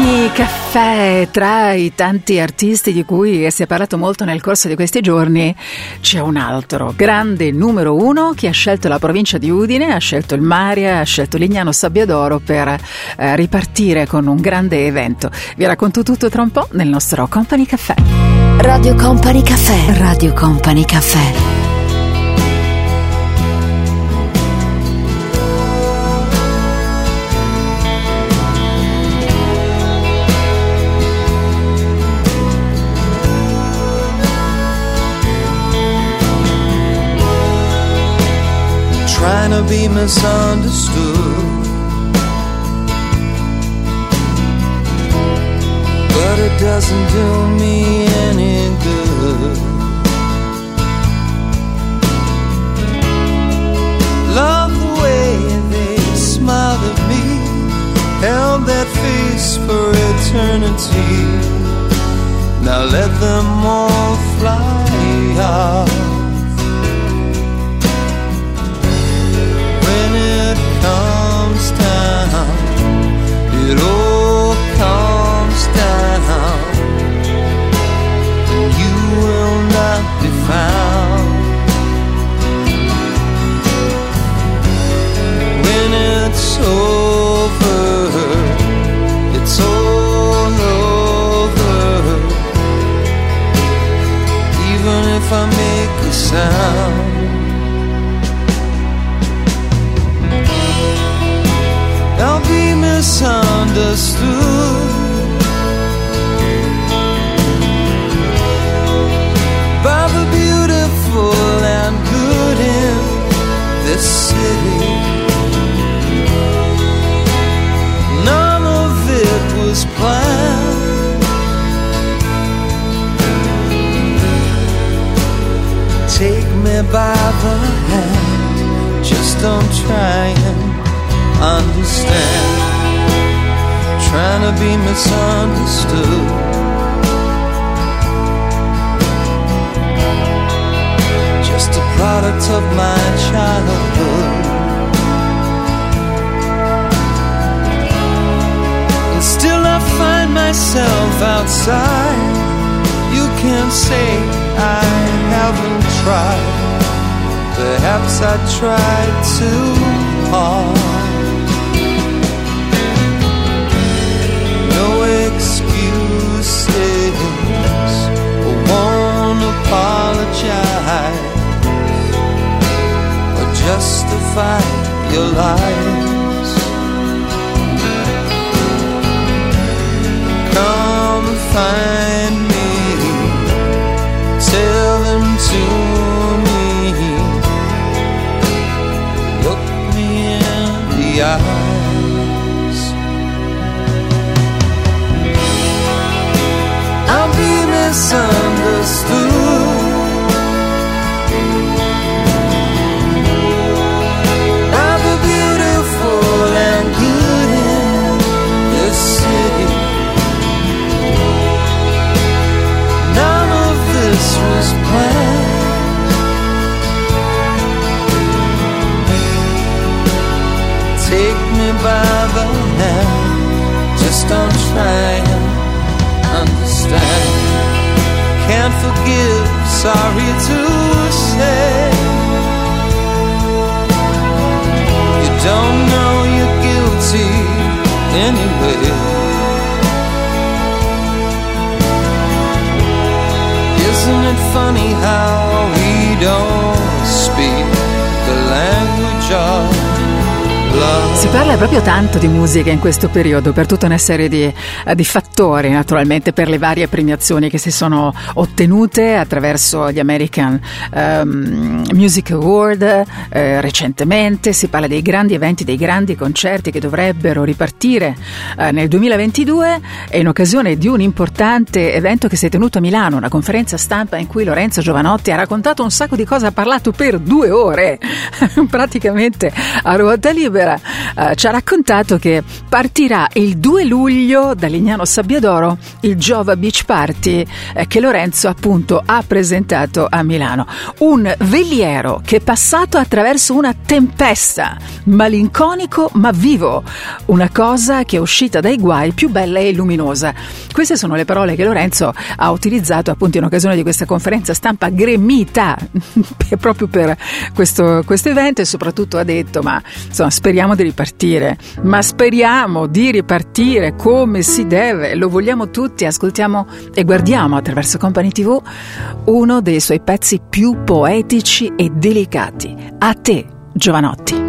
Company Caffè. Tra i tanti artisti di cui si è parlato molto nel corso di questi giorni c'è un altro grande numero uno che ha scelto la provincia di Udine, ha scelto il Maria, ha scelto Lignano Sabbiadoro per eh, ripartire con un grande evento. Vi racconto tutto tra un po' nel nostro Company Caffè. Radio Company Caffè. Radio Company Caffè. Trying to be misunderstood, but it doesn't do me any good. Love the way they smiled at me, held that face for eternity. Now let them all fly out. When it comes down, it all comes down, and you will not be found. When it's over, it's all over, even if I make a sound. I'll be misunderstood by the beautiful and good in this city. None of it was planned. Take me by the hand, just don't try and understand. Trying to be misunderstood. Just a product of my childhood. And still I find myself outside. You can say I haven't tried. Perhaps I tried too hard. No excuses, I won't apologize or justify your lies. Come find me, tell them to me, look me in the eye. Misunderstood by the beautiful and good in this city. None of this was planned. Take me by the hand, just don't try and understand. Can't forgive, sorry to say. You don't know you're guilty anyway. Isn't it funny how we don't speak the language of love? Si parla proprio tanto di musica in questo periodo per tutta una serie di, di fattori, naturalmente per le varie premiazioni che si sono ottenute attraverso gli American um, Music Award. Eh, recentemente si parla dei grandi eventi, dei grandi concerti che dovrebbero ripartire eh, nel duemilaventidue, e in occasione di un importante evento che si è tenuto a Milano, una conferenza stampa in cui Lorenzo Giovanotti ha raccontato un sacco di cose, ha parlato per due ore praticamente a ruota libera. eh, ci ha raccontato che partirà il due luglio da Lignano Sabbiadoro il Giova Beach Party eh, che Lorenzo appunto ha presentato a Milano. Un veliero che è passato attraverso una tempesta, malinconico ma vivo, una cosa che è uscita dai guai più bella e luminosa. Queste sono le parole che Lorenzo ha utilizzato appunto in occasione di questa conferenza stampa gremita proprio per questo, questo evento, e soprattutto ha detto ma insomma speriamo di ripartire, ma speriamo di ripartire come si deve, lo vogliamo tutti. Ascoltiamo e guardiamo attraverso Company tivù uno dei suoi pezzi più poetici e delicati. A te, Giovanotti.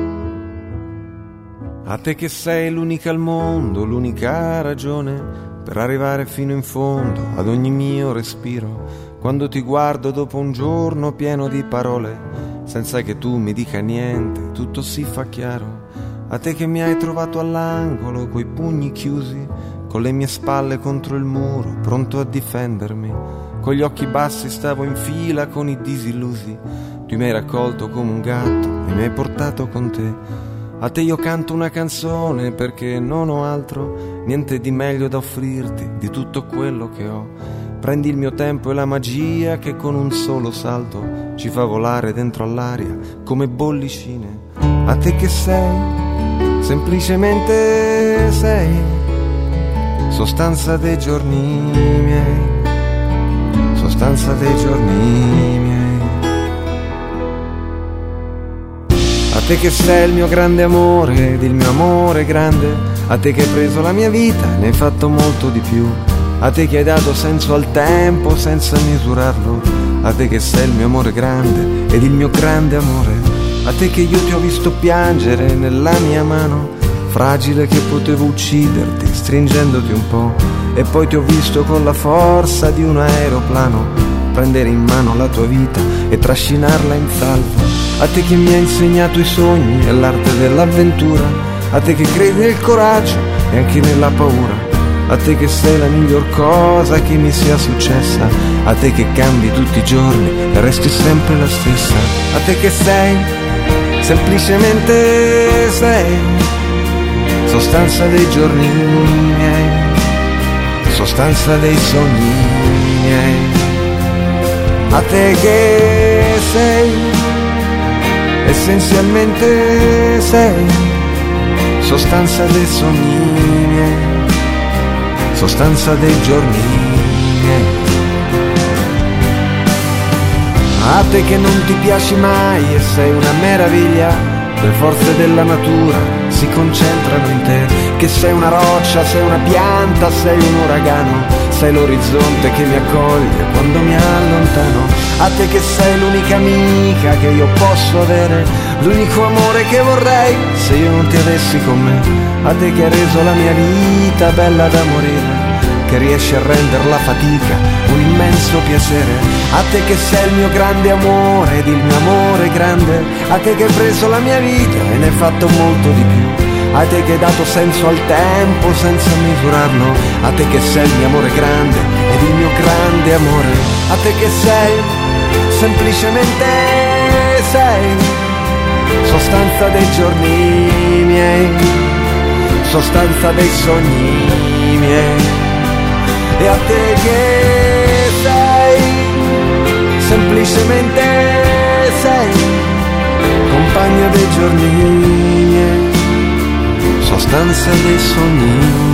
A te che sei l'unica al mondo, l'unica ragione per arrivare fino in fondo ad ogni mio respiro. Quando ti guardo dopo un giorno pieno di parole, senza che tu mi dica niente, tutto si fa chiaro. A te che mi hai trovato all'angolo, coi pugni chiusi, con le mie spalle contro il muro, pronto a difendermi. Con gli occhi bassi stavo in fila con i disillusi. Tu mi hai raccolto come un gatto e mi hai portato con te. A te io canto una canzone perché non ho altro, niente di meglio da offrirti di tutto quello che ho. Prendi il mio tempo e la magia che con un solo salto ci fa volare dentro all'aria come bollicine. A te che sei, semplicemente sei, sostanza dei giorni miei, sostanza dei giorni miei. A te che sei il mio grande amore ed il mio amore grande, a te che hai preso la mia vita e ne hai fatto molto di più, a te che hai dato senso al tempo senza misurarlo, a te che sei il mio amore grande ed il mio grande amore, a te che io ti ho visto piangere nella mia mano, fragile che potevo ucciderti stringendoti un po', e poi ti ho visto con la forza di un aeroplano prendere in mano la tua vita e trascinarla in salvo. A te che mi hai insegnato i sogni e l'arte dell'avventura, a te che credi nel coraggio e anche nella paura, a te che sei la miglior cosa che mi sia successa, a te che cambi tutti i giorni e resti sempre la stessa, a te che sei, semplicemente sei, sostanza dei giorni miei, sostanza dei sogni miei. A te che sei, essenzialmente sei, sostanza dei sogni miei, sostanza dei giorni miei. A te che non ti piaci mai e sei una meraviglia, le forze della natura si concentrano in te, che sei una roccia, sei una pianta, sei un uragano, sei l'orizzonte che mi accoglie quando mi allontano. A te che sei l'unica amica che io posso avere, l'unico amore che vorrei se io non ti avessi con me. A te che hai reso la mia vita bella da morire, che riesci a rendere la fatica un immenso piacere. A te che sei il mio grande amore ed il mio amore grande, a te che hai preso la mia vita e ne hai fatto molto di più, a te che hai dato senso al tempo senza misurarlo, a te che sei il mio amore grande ed il mio grande amore, a te che sei, semplicemente sei, sostanza dei giorni miei, sostanza dei sogni miei. E a te che sei, semplicemente sei, compagna dei giorni miei, sostanza dei sogni.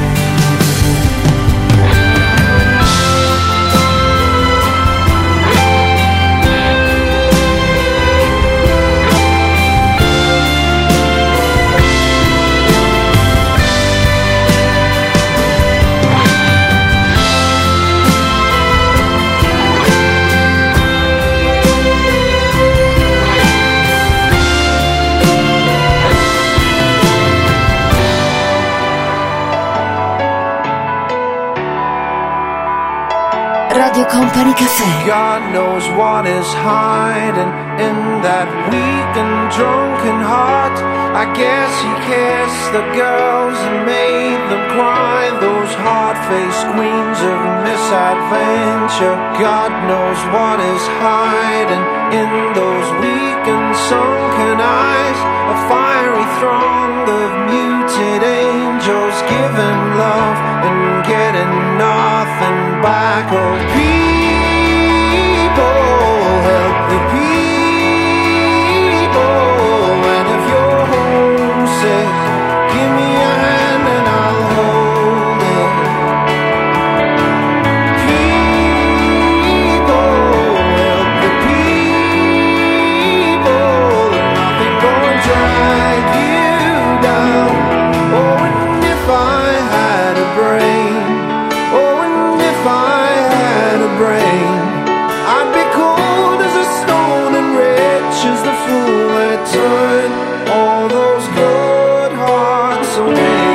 Radio Company Caffè. God knows what is hiding in that weak and drunken heart. I guess he kissed the girls and made them cry, those hard-faced queens of misadventure. God knows what is hiding in those weak and sunken eyes, a fiery throng of muted angels giving love and getting nothing back. Oh, people, help the people. And if you're homesick, give me a hand and I'll hold it. People, help the people. Nothing gonna drag you down. Oh, and if I had a brain, oh, and if I had a brain, I'd be cold as a stone and rich as the fool that turned all those good hearts away.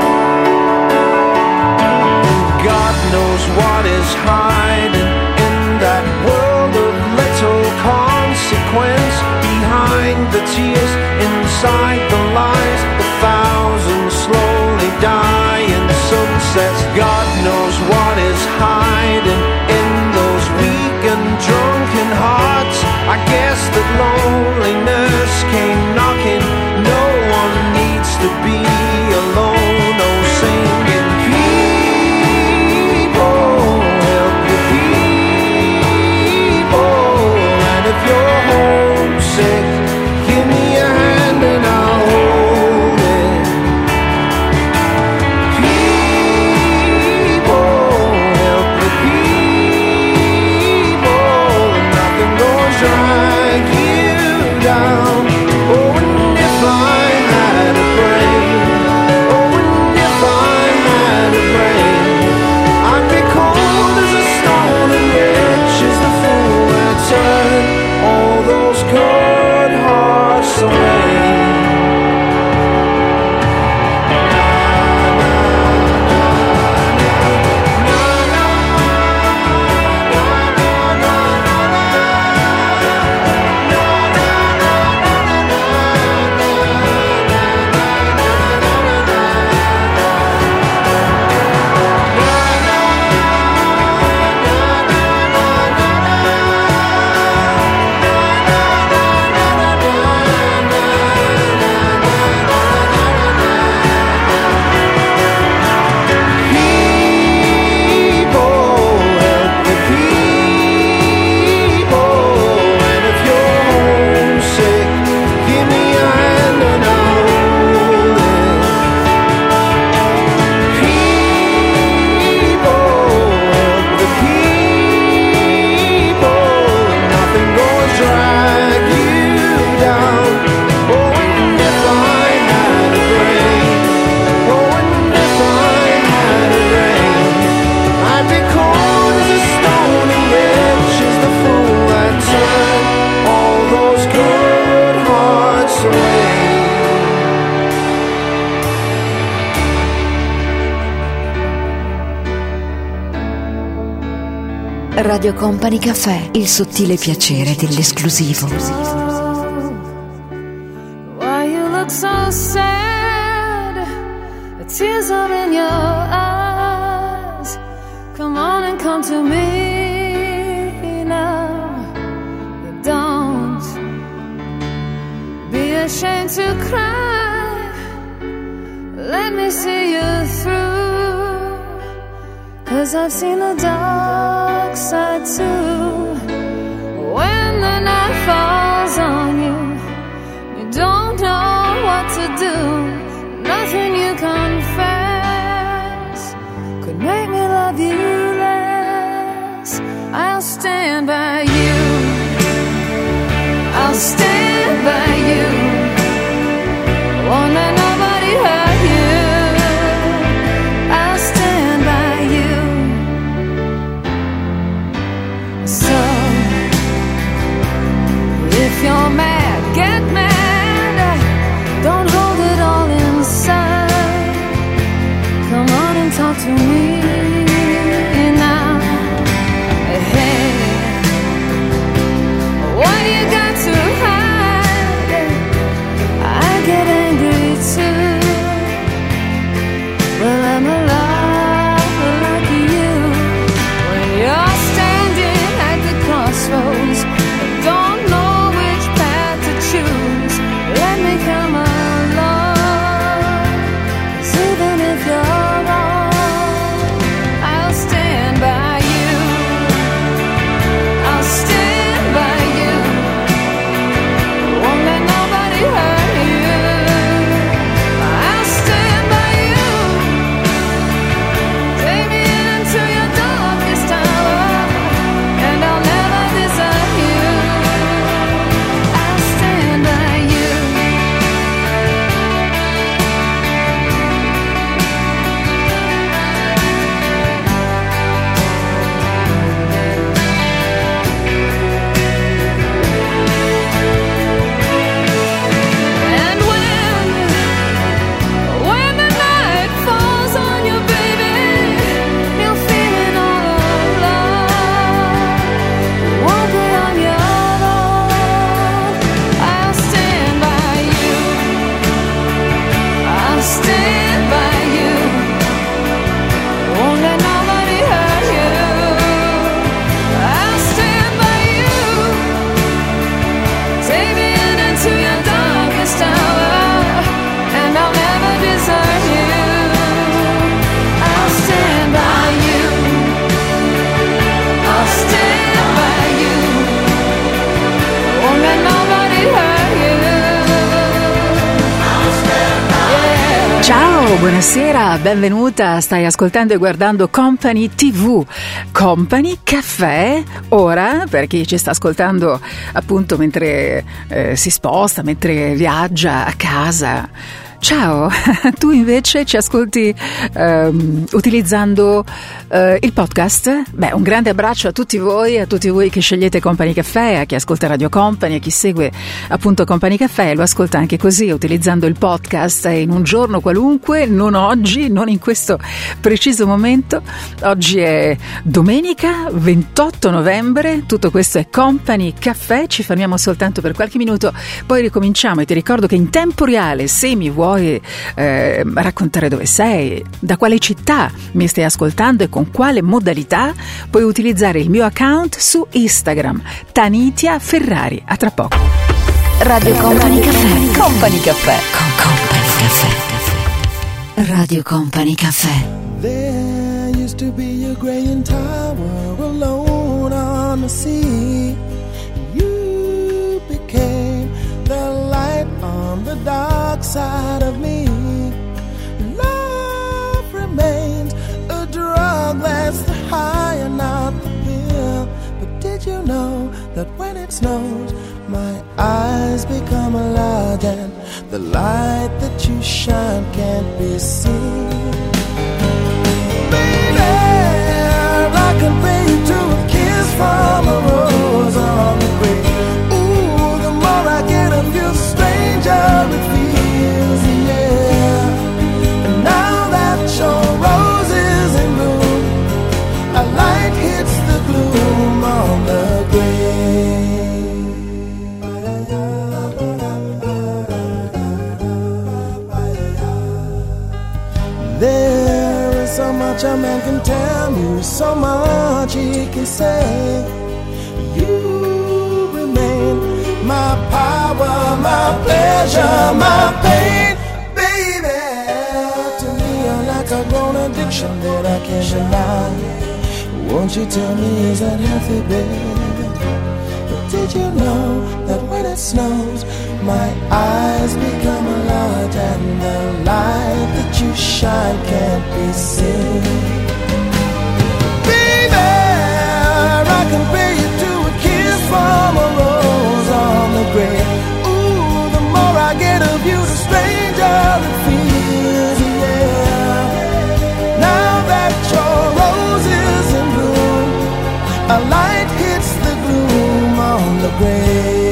God knows what is hiding in that world of little consequence, behind the tears, inside the lies, the thousand slowly dying sunsets. God knows what is hiding in those weak and drunken hearts. I guess that loneliness came knocking. No one needs to be alone. Oh, singing people, help the people. And if you're homesick, give me a hand and I'll hold it. People, help the people. Nothing gonna drag you down. Oh, and if I had a brain, oh, and if I had a brain, I'd be cold as a stone and rich as the fool that turned all those good hearts away. Radio Company Cafè, il sottile piacere dell'esclusivo. Why you look so sad? The tears are in your eyes. Come on and come to me now. Don't be ashamed to cry. Let me see you through. 'Cause I've seen the dark side too. When the night falls on you, you don't know what to do. Nothing you confess could make me love you less. I'll stand by you. I'll stand by you. Won't let nobody hurt you. I'll stand by you. So if you're mad, get mad. Don't hold it all inside. Come on and talk to me now. Hey, what you got to hide? I get angry too. Well, I'm alive like you. When you're standing at the crossroads, don't know which path buonasera, benvenuta, stai ascoltando e guardando Company tivù, Company Caffè, ora per chi ci sta ascoltando appunto mentre eh, si sposta, mentre viaggia a casa. Ciao, tu invece ci ascolti um, utilizzando uh, il podcast? Beh, un grande abbraccio a tutti voi, a tutti voi che scegliete Company Caffè, a chi ascolta Radio Company, a chi segue appunto Company Caffè, lo ascolta anche così, utilizzando il podcast in un giorno qualunque, non oggi, non in questo preciso momento. Oggi è domenica ventotto novembre, tutto questo è Company Caffè, ci fermiamo soltanto per qualche minuto, poi ricominciamo e ti ricordo che in tempo reale, se mi vuoi Vuoi eh, raccontare dove sei, da quale città mi stai ascoltando e con quale modalità, puoi utilizzare il mio account su Instagram, Tanitia Ferrari. A tra poco. Radio Company Caffè. Company Caffè. Con Company Caffè. Radio Company Caffè. There used to be a graying tower alone on the sea. You became the light on the dark side of me. Love remains a drug that's the high and not the pill. But did you know that when it snows, my eyes become large and the light that you shine can't be seen? Baby, I compare you to a kiss from a rose on the grave. Ooh, the more I get of you, stranger it feels, yeah. And now that your rose is in bloom, a light hits the gloom on the grave. There is so much a man can tell you, so much he can say. You remain my power, my pleasure, my pain. Baby, to me you're like a grown addiction that I can't deny. Won't you tell me, is that healthy, baby? But did you know that when it snows, my eyes become large and the light that you shine can't be seen? Baby, I compare you to a kiss from a rose on the grave. Ooh, the more I get of you, the stranger it feels, yeah. Now that your rose is in bloom, a light hits the gloom on the grave.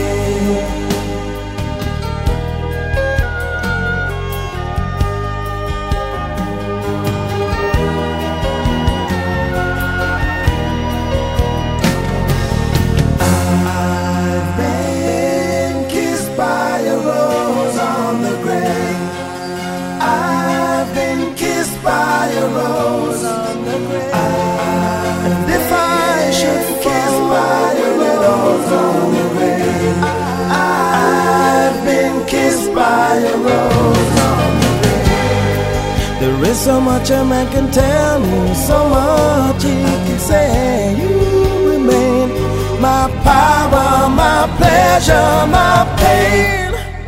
By a rose on the grave. And if I should kiss by a rose on the grave, I've been kissed by a rose on the grave. There is so much a man can tell me, so much he can say. You remain my power, my pleasure, my pain.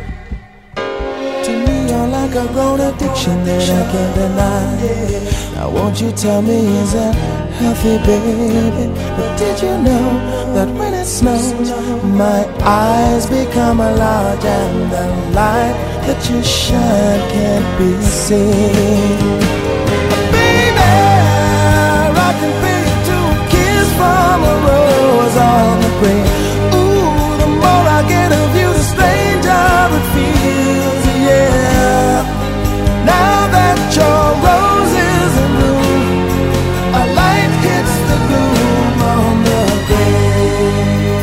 Like a grown addiction that I can't deny. Now won't you tell me, is that healthy, baby? But did you know that when it snows, my eyes become large and the light that you shine can't be seen? Baby, I can feel you to a kiss from a rose on the grave. Ooh, the more I get of you, the stranger it feels, yeah. Now that your rose is in bloom, a light hits the gloom on the grave.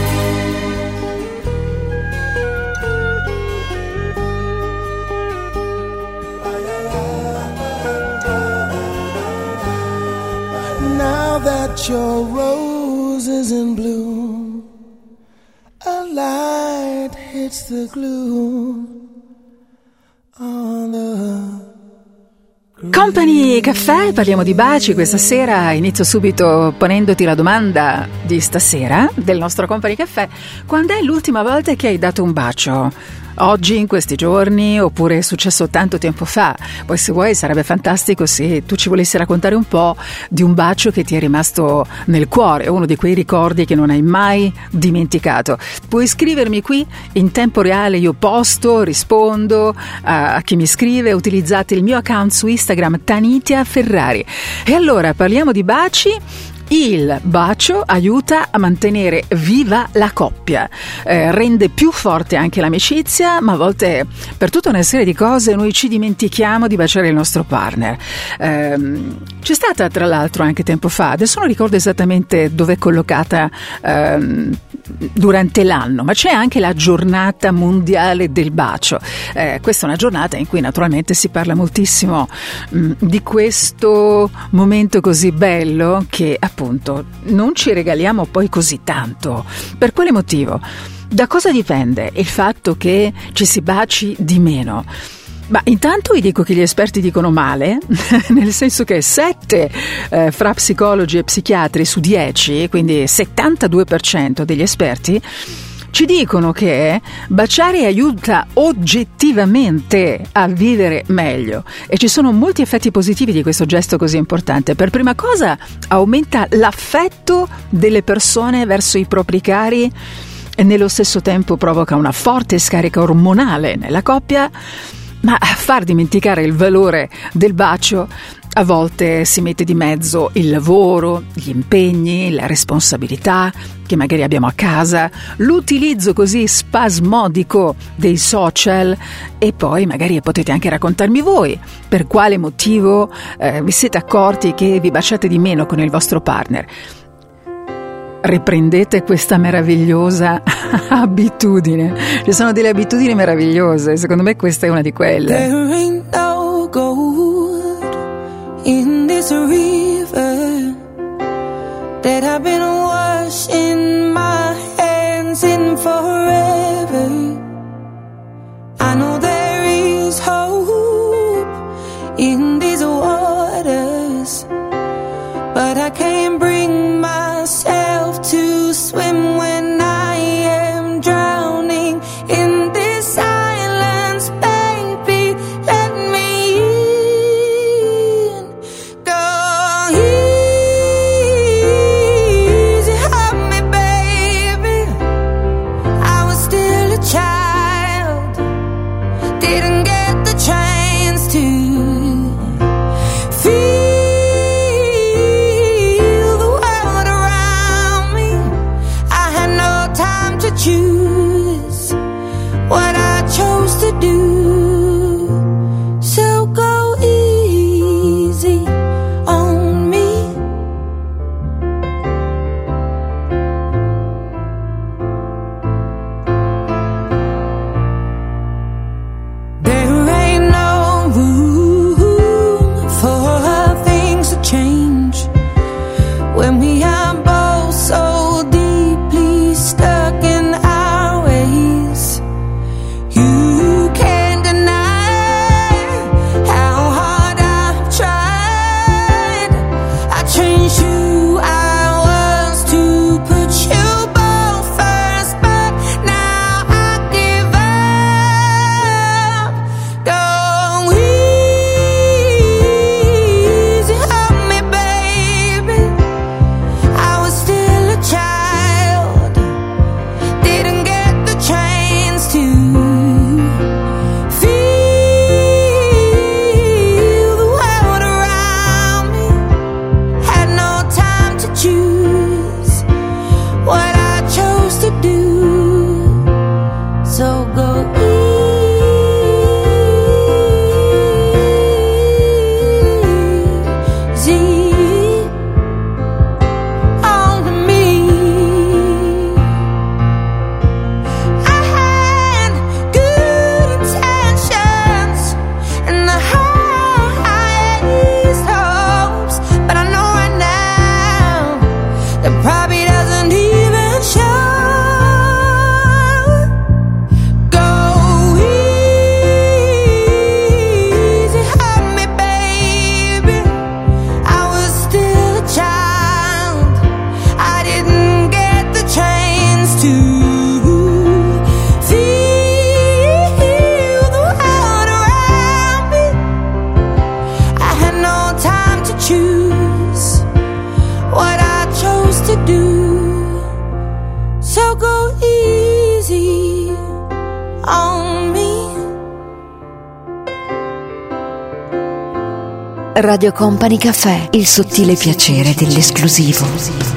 Now that your rose is in bloom, a light hits the gloom on the Company Caffè, parliamo di baci questa sera. Inizio subito ponendoti la domanda di stasera del nostro Company Caffè: quando è l'ultima volta che hai dato un bacio? Oggi, in questi giorni, oppure è successo tanto tempo fa? Poi, se vuoi, sarebbe fantastico se tu ci volessi raccontare un po' di un bacio che ti è rimasto nel cuore, uno di quei ricordi che non hai mai dimenticato. Puoi scrivermi qui in tempo reale, io posto, rispondo a, a chi mi scrive. Utilizzate il mio account su Instagram, Tanitia Ferrari. E allora parliamo di baci. Il bacio aiuta a mantenere viva la coppia, eh, rende più forte anche l'amicizia, ma a volte per tutta una serie di cose noi ci dimentichiamo di baciare il nostro partner. Eh, c'è stata tra l'altro anche tempo fa, adesso non ricordo esattamente dove è collocata eh, durante l'anno, ma c'è anche la giornata mondiale del bacio. Eh, questa è una giornata in cui naturalmente si parla moltissimo mh, di questo momento così bello che appunto non ci regaliamo poi così tanto. Per quale motivo? Da cosa dipende il fatto che ci si baci di meno? Ma intanto vi dico che gli esperti dicono male, nel senso che sette eh, fra psicologi e psichiatri su dieci, quindi settantadue per cento degli esperti, ci dicono che baciare aiuta oggettivamente a vivere meglio, e ci sono molti effetti positivi di questo gesto così importante. Per prima cosa, aumenta l'affetto delle persone verso i propri cari e nello stesso tempo provoca una forte scarica ormonale nella coppia. Ma a far dimenticare il valore del bacio a volte si mette di mezzo il lavoro, gli impegni, la responsabilità che magari abbiamo a casa, l'utilizzo così spasmodico dei social, e poi magari potete anche raccontarmi voi per quale motivo eh, vi siete accorti che vi baciate di meno con il vostro partner. Riprendete questa meravigliosa abitudine. Ci sono delle abitudini meravigliose, secondo me questa è una di quelle. There ain't no gold in this river that I've been washing my hands in forever. I know there is hope in these waters, but I can't bring myself to swim when I am drowning in this silence. Baby, let me in. Go easy on me, baby. I was still a child, didn't get the chance to feel choose what I chose to do. So go easy on me. There ain't no room for things to change when we are both so deeply stuck in our ways. You can Radio Company Cafè, il sottile piacere dell'esclusivo.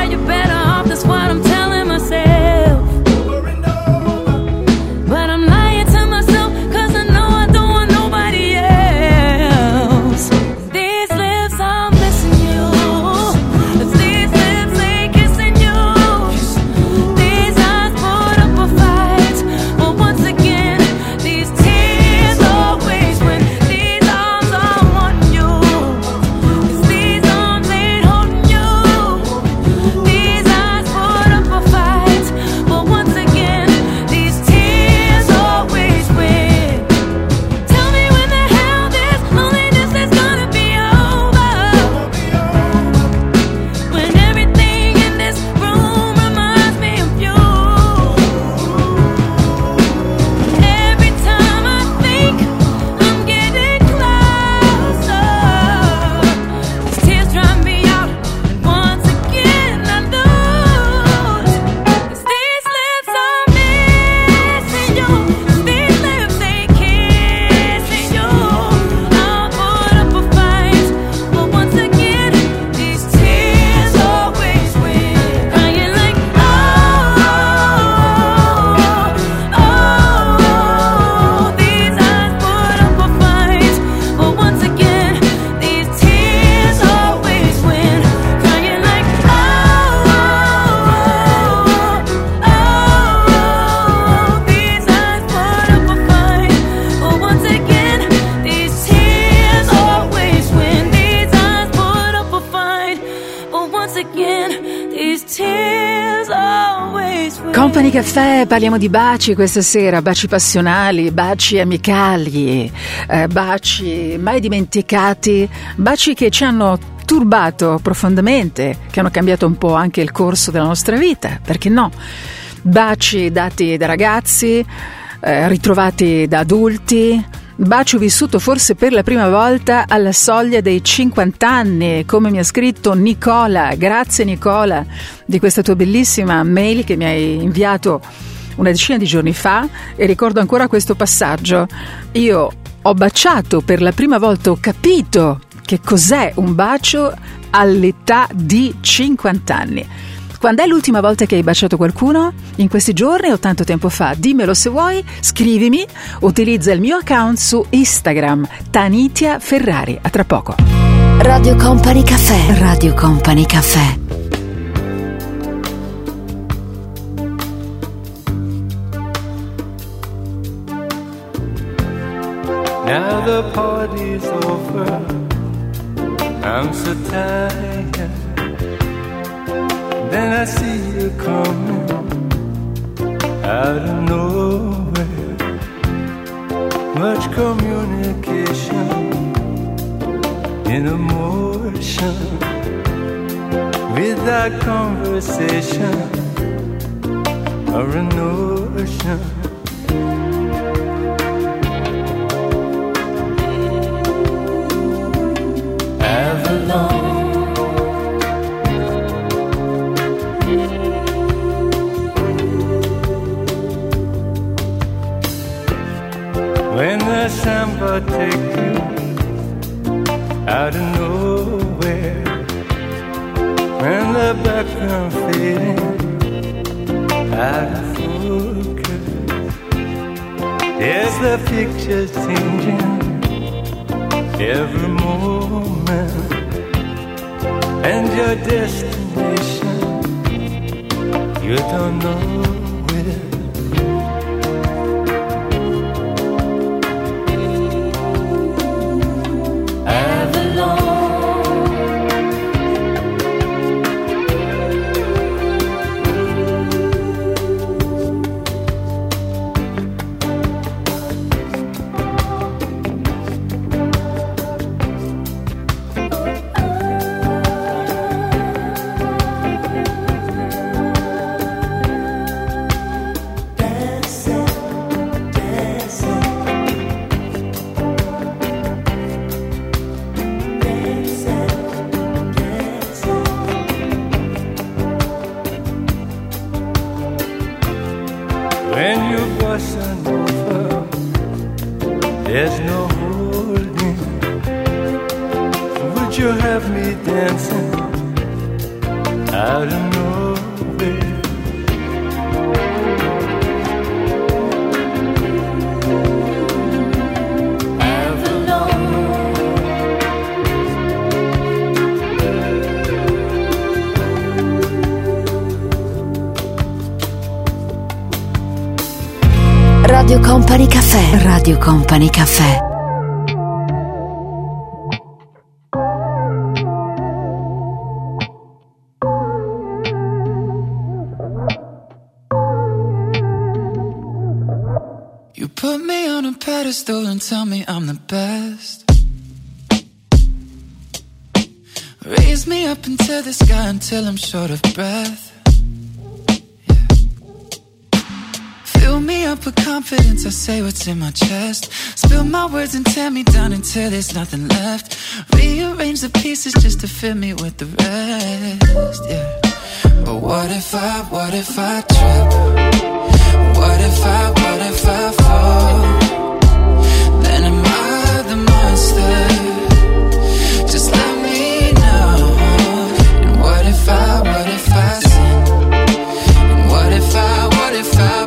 But I'm lying. Company Cafè, parliamo di baci questa sera, baci passionali, baci amicali, eh, baci mai dimenticati, baci che ci hanno turbato profondamente, che hanno cambiato un po' anche il corso della nostra vita, perché no? Baci dati da ragazzi, eh, ritrovati da adulti, bacio vissuto forse per la prima volta alla soglia dei cinquanta anni, come mi ha scritto Nicola. Grazie Nicola di questa tua bellissima mail che mi hai inviato una decina di giorni fa, e ricordo ancora questo passaggio. Io ho baciato per la prima volta, ho capito che cos'è un bacio all'età di cinquanta anni. Quando è l'ultima volta che hai baciato qualcuno? In questi giorni o tanto tempo fa? Dimmelo se vuoi, scrivimi, utilizza il mio account su Instagram, Tanitia Ferrari. A tra poco. Radio Company Cafè. Radio Company Cafè. Now the party's over, I'm so tired. Then I see you coming out of nowhere. Much communication in emotion, without conversation or a notion. Avalon. When the samba take you out of nowhere, when the background fading out of focus, there's the pictures changing every moment, and your destination you don't know. Radio Company Cafè. Radio Company Cafè. You put me on a pedestal and tell me I'm the best. Raise me up into the sky until I'm short of breath. Fill me up with confidence, I say what's in my chest. Spill my words and tear me down until there's nothing left. Rearrange the pieces just to fill me with the rest, yeah. But what if I, what if I trip? What if I, what if I fall? Then am I the monster? Just let me know. And what if I, what if I sin? And what if I, what if I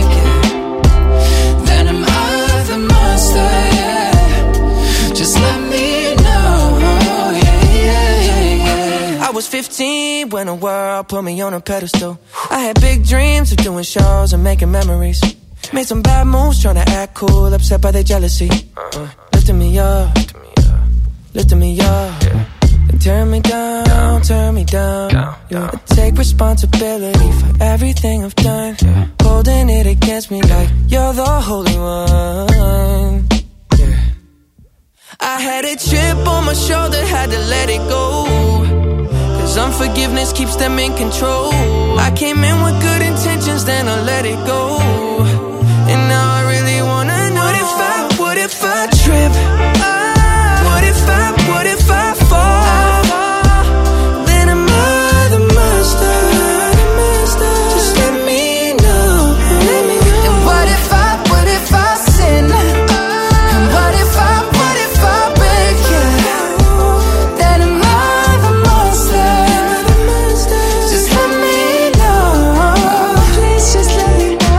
fifteen when the world put me on a pedestal. I had big dreams of doing shows and making memories. Made some bad moves trying to act cool, upset by their jealousy. uh, Lifting me up, lifting me up. turn me down, down, turn me down, down, down. I take responsibility for everything I've done, yeah. Holding it against me like you're the holy one, yeah. I had a chip on my shoulder, had to let it go, cause unforgiveness keeps them in control. I came in with good intentions, then I let it go, and now I really wanna know. What if I, what if I trip? What if I, what if I fall? Then am I the monster? Just let me know. And what if I, what if I sin? And what if I, what if I break you? Then am I the monster? Just let me know. Please just let me know.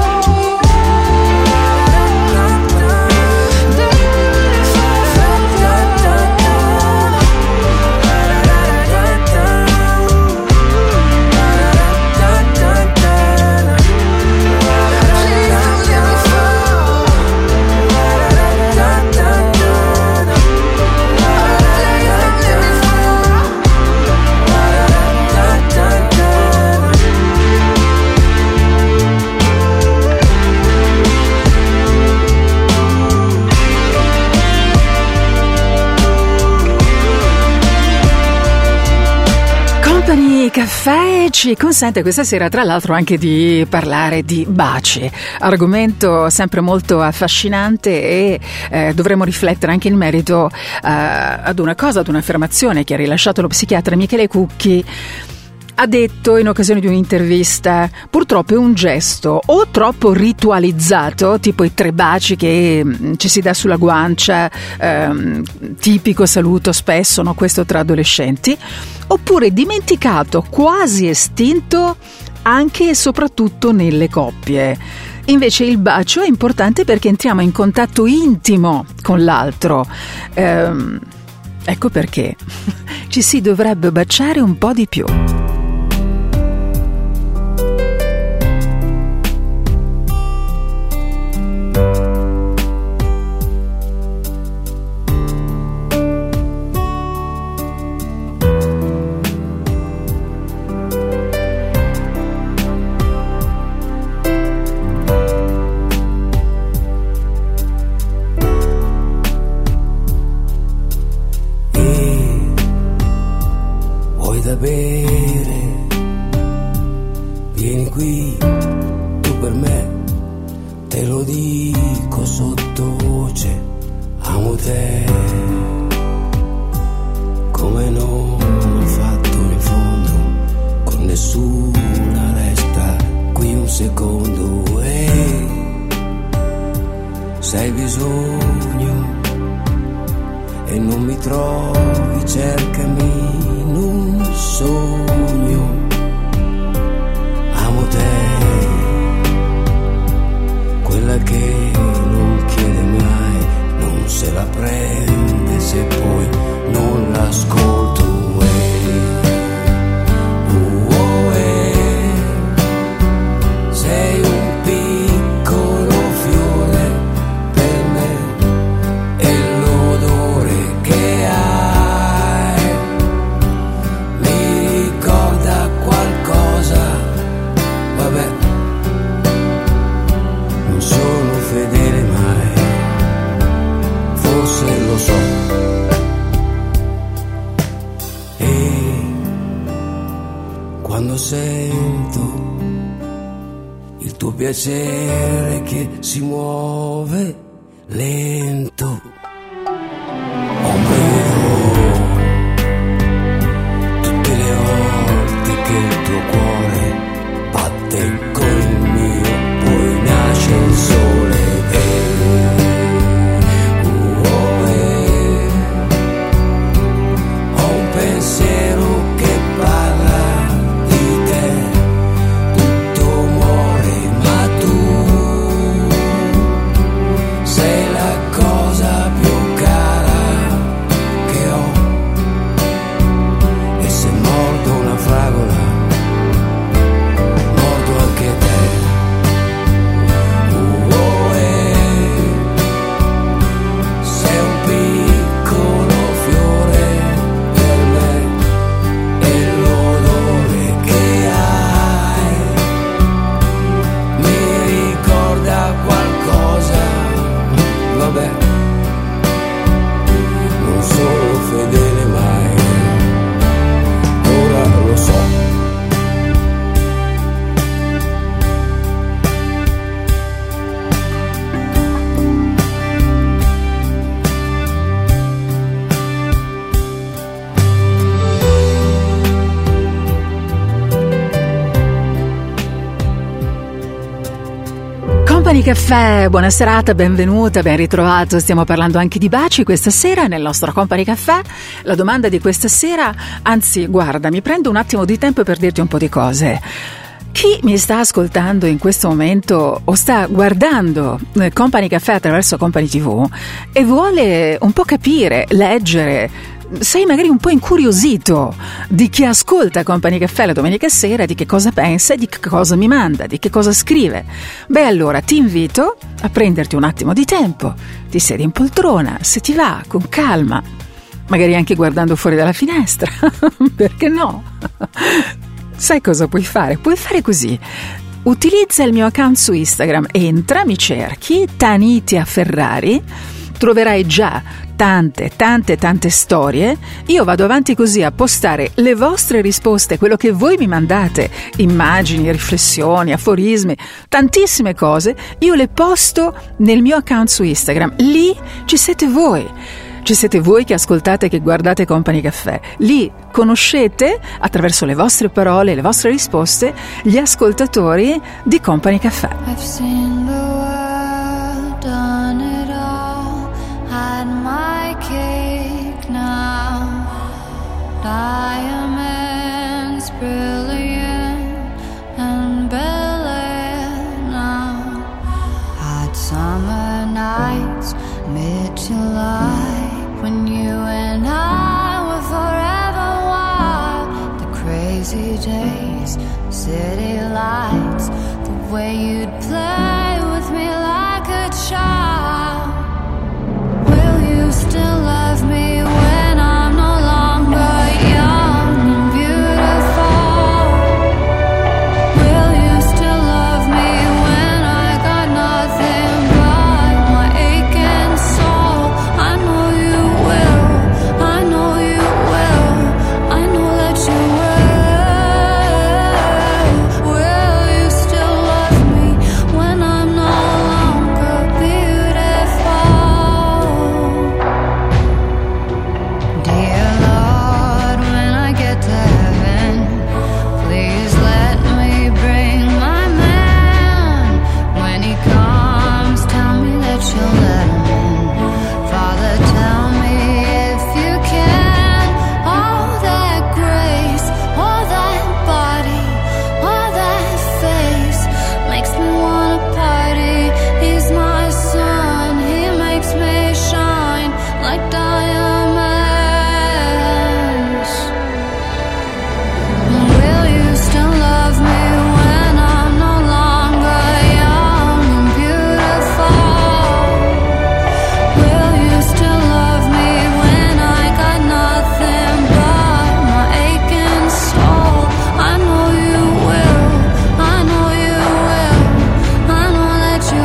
Company Caffè ci consente questa sera tra l'altro anche di parlare di baci, argomento sempre molto affascinante e eh, dovremo riflettere anche in merito eh, ad una cosa, ad un'affermazione che ha rilasciato lo psichiatra Michele Cucchi. Ha detto in occasione di un'intervista: purtroppo è un gesto o troppo ritualizzato, tipo i tre baci che mh, ci si dà sulla guancia, ehm, tipico saluto spesso, no? Questo tra adolescenti, oppure dimenticato, quasi estinto anche e soprattutto nelle coppie. Invece il bacio è importante perché entriamo in contatto intimo con l'altro. Ehm, ecco perché ci si dovrebbe baciare un po' di più. Da bere, vieni qui, tu per me, te lo dico sottovoce, amo te, come non ho fatto in fondo, con nessuna resta qui un secondo, e se hai bisogno e non mi trovi, cercami in un sogno, amo te, quella che non chiede mai, non se la prende se poi non l'ascolto, eh. Oh, eh. Sei un piccolo fiore per me e l'odore che hai mi ricorda qualcosa, vabbè, non sono fedele mai, forse lo so, e quando sento il tuo piacere che si muove lento, tutte le volte che il tuo cuore batte con il mio, poi nasce il sole, eh, oh, eh. Ho un pensiero che parla di te, tutto muore ma tu sei la cosa Company Caffè, buona serata, benvenuta, ben ritrovato. Stiamo parlando anche di baci questa sera nel nostro Company Caffè. La domanda di questa sera, anzi guarda, mi prendo un attimo di tempo per dirti un po' di cose. Chi mi sta ascoltando in questo momento o sta guardando Company Caffè attraverso Company tivù e vuole un po' capire, leggere, sei magari un po' incuriosito di chi ascolta Company Caffè la domenica sera, di che cosa pensa, di che cosa mi manda, di che cosa scrive, beh allora ti invito a prenderti un attimo di tempo, ti siedi in poltrona, se ti va, con calma, magari anche guardando fuori dalla finestra, perché no? Sai cosa puoi fare? Puoi fare così: utilizza il mio account su Instagram, entra, mi cerchi Tanitia Ferrari, troverai già tante, tante, tante storie. Io vado avanti così a postare le vostre risposte, quello che voi mi mandate, immagini, riflessioni, aforismi, tantissime cose, io le posto nel mio account su Instagram. Lì ci siete voi. Ci siete voi che ascoltate e che guardate Company Caffè. Lì conoscete, attraverso le vostre parole e le vostre risposte, gli ascoltatori di Company Caffè. I've seen the world, done it all, had my cake now. Diamonds brilliant and Bel-Air now. Hot summer nights, mid-July, when you and I were forever wild. The crazy days, city lights, the way you'd play with me like a child. Will you still love me when I'm no longer young and beautiful? Will you still love me when I got nothing but my aching soul? I know you will, I know you will, I know that you will. Will you still love me when I'm no longer beautiful? Dear Lord, when I get to heaven, please let me bring my man. When he comes, tell me that you'll let him in. Father, tell me if you can. All that grace, all that body, all that face makes me wanna party. He's my sun, he makes me shine like diamonds. Will you still love me when I'm no longer young and beautiful? Will you still love me when I got nothing but my aching soul? I know you will, I know you will, I know that you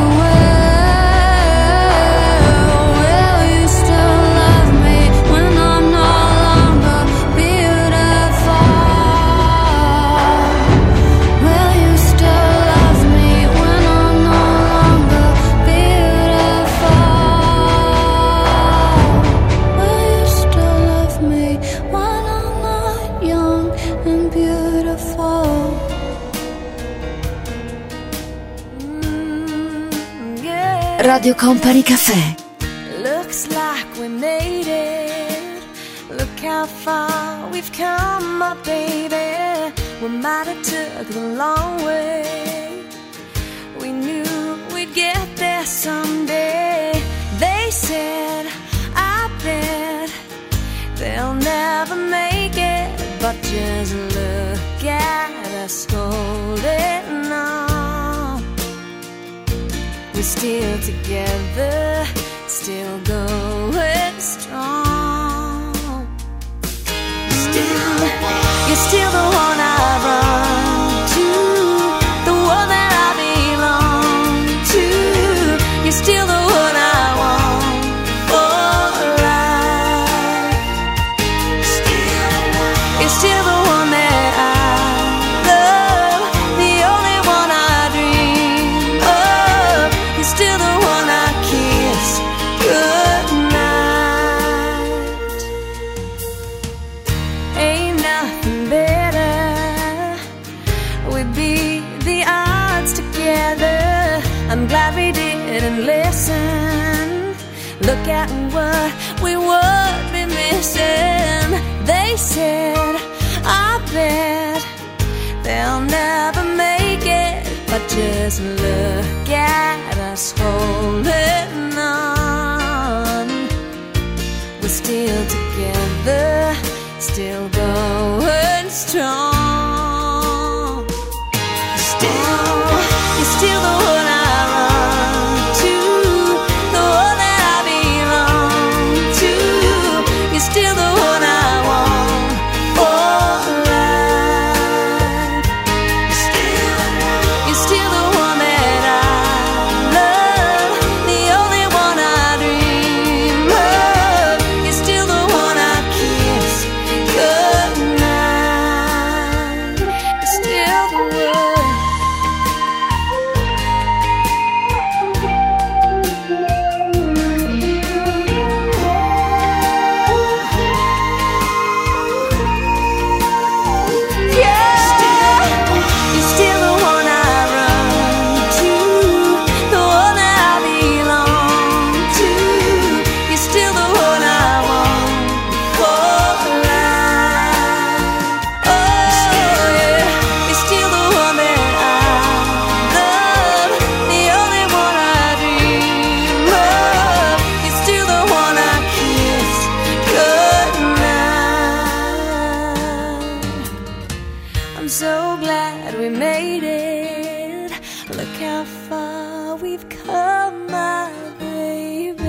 will. Will you still love me when I'm no longer beautiful? Will you still love me when I'm no longer beautiful? Will you still love me when I'm not young and beautiful? Yeah. Radio Company Caffè. Looks like we made it. Look how far we've come, my baby. We might have took the long way. We knew we'd get there someday. They said, I bet they'll never make it, but just look at us holding on. We're still together, still going strong. Still, you're still the one I run to, the one that I belong to. You're still the one I want for life. Still, you're still the one that I love, the only one I dream of. You're still the one I kiss goodnight. Ain't nothing better Look at what we would be missing. They said, I bet they'll never make it, but just look at us holding on. We're still together, still going strong. Still, you're still the one I run to, the one that I belong to. You're still the one I want for life. Still, you're still the one that I love, the only one I dream of. You're still the one I kiss goodnight. You're still the one. I'm so glad we made it. Look how far we've come, my baby.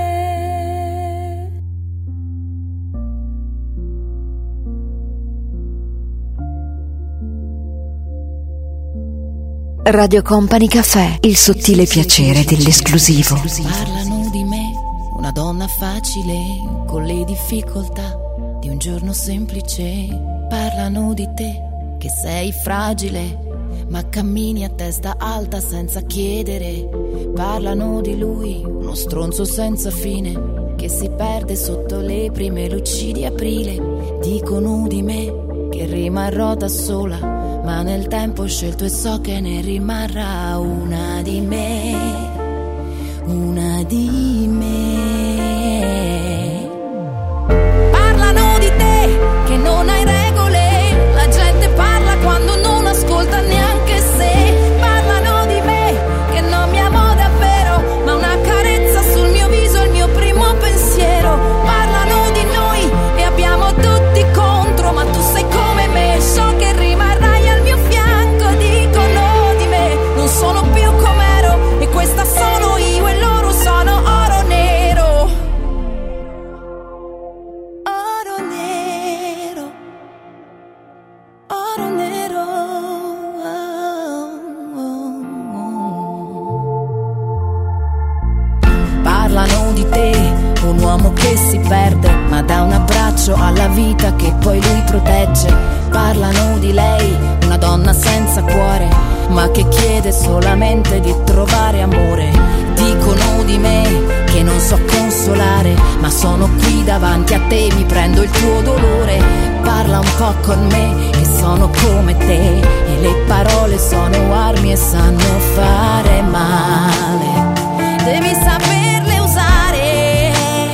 Radio Company Cafè, il sottile piacere dell'esclusivo. Parlano di me, una donna facile, con le difficoltà di un giorno semplice. Parlano di te, che sei fragile, ma cammini a testa alta senza chiedere. Parlano di lui, uno stronzo senza fine, che si perde sotto le prime luci di aprile. Dicono di me che rimarrò da sola, ma nel tempo ho scelto e so che ne rimarrà una di me, una di me. Parlano di te, che non hai regole, la gente parla quando non ascolta neanche se. Parlano di me, che non mi amo davvero, ma una carezza sul mio viso è il mio primo pensiero. Parlano di noi e abbiamo tutti contro, ma tu sei come me, so che rimarrai al mio fianco. Dicono di me, non sono più com'ero, e questa sono io e loro sono oro nero. Oro nero, oro nero. Parlano di te, un uomo che si perde, ma dà un abbraccio alla vita che poi lui protegge. Parlano di lei, una donna senza cuore, ma che chiede solamente di trovare amore. Dicono di me che non so consolare, ma sono qui davanti a te, mi prendo il tuo dolore. Parla un po' con me, che sono come te, e le parole sono armi e sanno fare male. Devi saperle usare.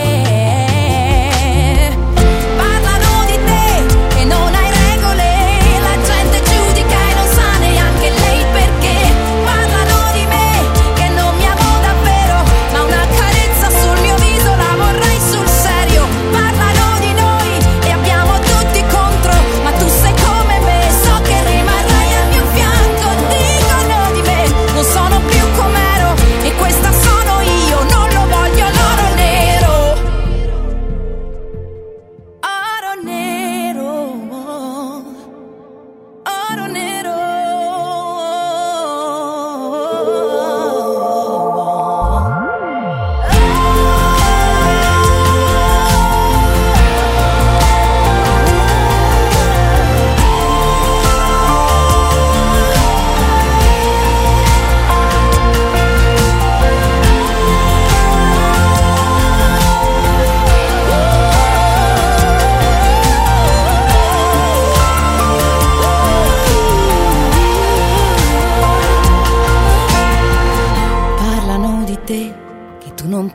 Parlano di te, che non hai regole, la gente giudica e non sa neanche lei perché. Parlano di me, che non mi amo davvero, ma una carezza sul mio viso la vorrei sul serio. Parlano di noi e abbiamo tutti contro, ma tu sei come me, so che rimarrai al mio fianco. Dicono di me, non sono più com'ero, e questa sono io, non lo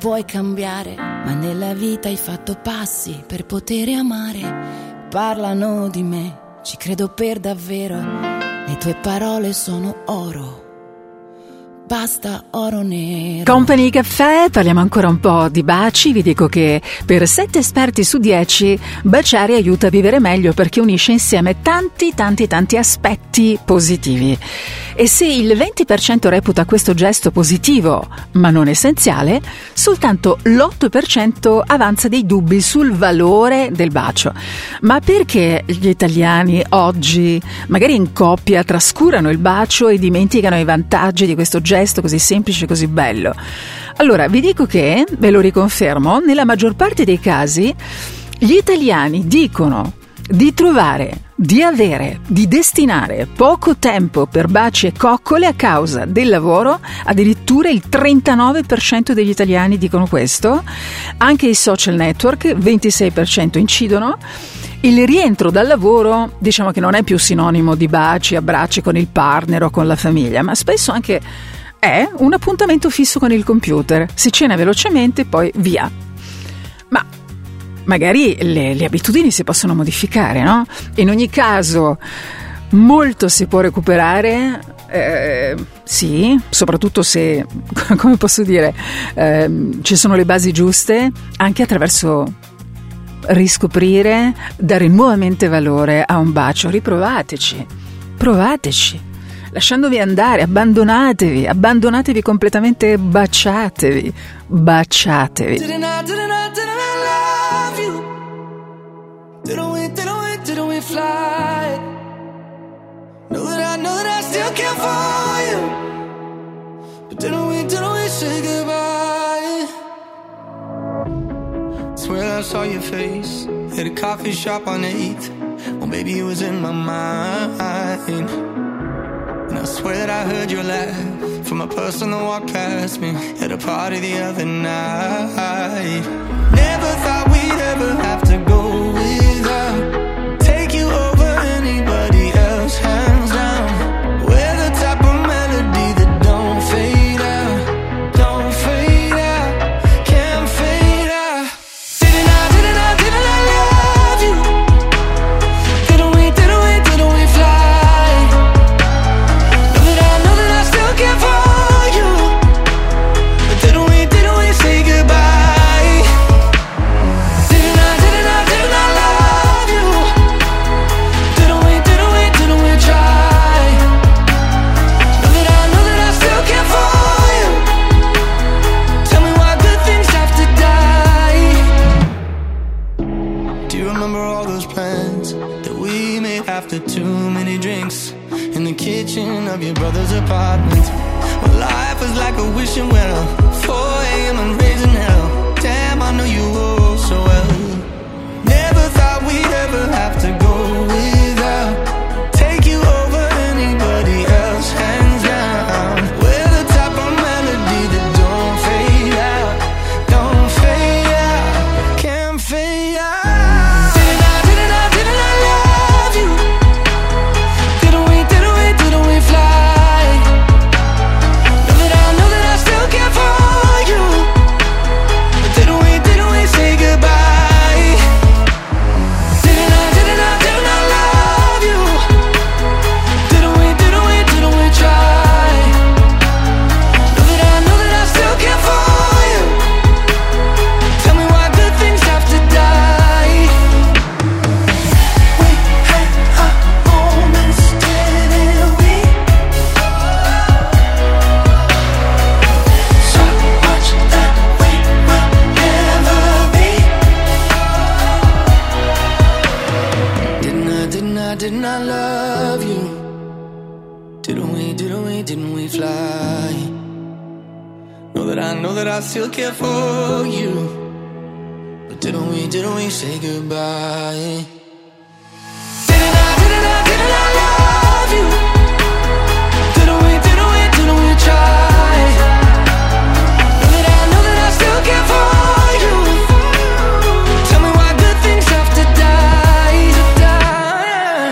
puoi cambiare, ma nella vita hai fatto passi per poter amare. Parlano di me, ci credo per davvero, le tue parole sono oro. Basta oro nero. Company Caffè, parliamo ancora un po' di baci. Vi dico che per sette esperti su dieci baciare aiuta a vivere meglio perché unisce insieme tanti tanti tanti aspetti positivi. E se il venti per cento reputa questo gesto positivo ma non essenziale, soltanto l'otto per cento avanza dei dubbi sul valore del bacio. Ma perché gli italiani oggi, magari in coppia, trascurano il bacio e dimenticano i vantaggi di questo gesto così semplice e così bello? Allora, vi dico che, ve lo riconfermo, nella maggior parte dei casi gli italiani dicono di trovare, di avere, di destinare poco tempo per baci e coccole a causa del lavoro. Addirittura il trentanove per cento degli italiani dicono questo. Anche i social network, ventisei per cento incidono. Il rientro dal lavoro, diciamo che non è più sinonimo di baci, abbracci con il partner o con la famiglia, ma spesso anche è un appuntamento fisso con il computer. Si cena velocemente, poi via. Ma magari le, le abitudini si possono modificare, no? In ogni caso, molto si può recuperare, eh, sì, soprattutto se, come posso dire, eh, ci sono le basi giuste, anche attraverso riscoprire, dare nuovamente valore a un bacio. Riprovateci, provateci, lasciandovi andare, abbandonatevi, abbandonatevi completamente, baciatevi, baciatevi. Didn't I, didn't I, didn't I love you? Didn't we, didn't we, didn't we fly? Know that I, know that I still care for you. But didn't we, didn't we say goodbye? Swear I saw your face at a coffee shop on eighth. Well, baby, it was in my mind. And I swear that I heard your laugh from a person that walked past me at a party the other night. Never thought we'd ever have to go without, take you over anybody else, hands down. We're the type of melody that don't fade out, don't fade out, can't fade out. Didn't I, didn't I, didn't I love you? Didn't we, didn't we, didn't we fly? Know that I, know that I still care for you. But didn't we, didn't we say goodbye? Didn't I, didn't I, didn't I love you? Didn't we, didn't we, didn't we try? Know that I, know that I still care for you. Tell me why good things have to die. Do you remember all those plans that we made after too many drinks in the kitchen of your brother's apartment? Well, life was like a wishing well, four a.m. and raising hell. Damn, I know you all so well. Never thought we'd ever have to go without, take you over anybody else, hands down. We're the type of melody that don't fade out, don't fade out, can't fade out. Didn't I, didn't I, didn't I love you? Didn't we, didn't we, didn't we fly? Know that I, know that I still care for you. But didn't we, didn't we say goodbye? Didn't I, didn't I, didn't I love you? Didn't we, didn't we, didn't we try? Know that I, know that I still care for you. Tell me why good things have to die. We had our moments, didn't we? So much that we will never be. Didn't I, didn't I, didn't I love you? Didn't we, didn't we, didn't we fly? Know that I, know that I still care for you. But didn't we, didn't we say goodbye? Didn't I, didn't I, didn't I love you? Didn't we, didn't we, didn't we try? Know that I, know that I still care for you. Tell me why good things have to die, to die.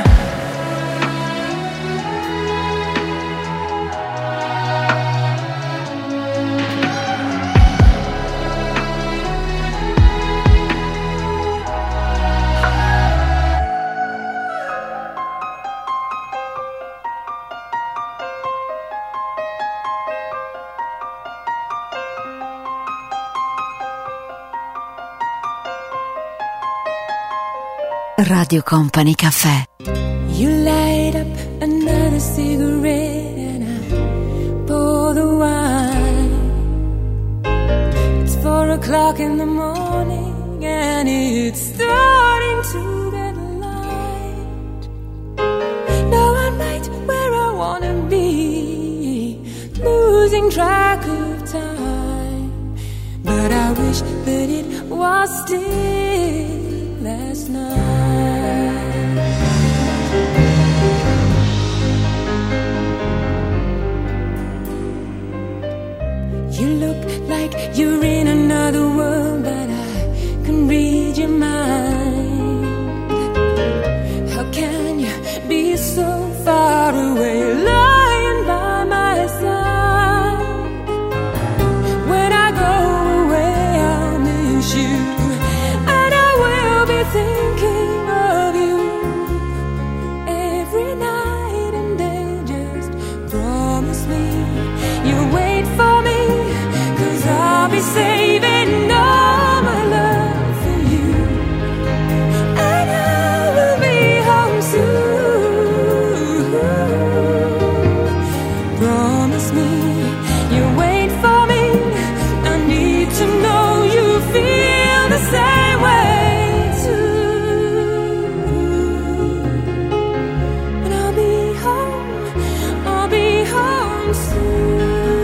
Radio Company Caffè. You light up another cigarette and I pour the wine. It's four o'clock in the morning and it's starting to get light. Now I'm right where I wanna be, losing track of time. But I wish that it was still last night. You look like you're in another world, but I can read your mind. How can you be so far away, lying by my side? When I go away, I'll miss you, and I will be thinking of you every night and day. Just promise me you'll wait for me, I'll be saving all my love for you, and I will be home soon. Promise me you'll wait for me. I need to know you feel the same way too. And I'll be home, I'll be home soon.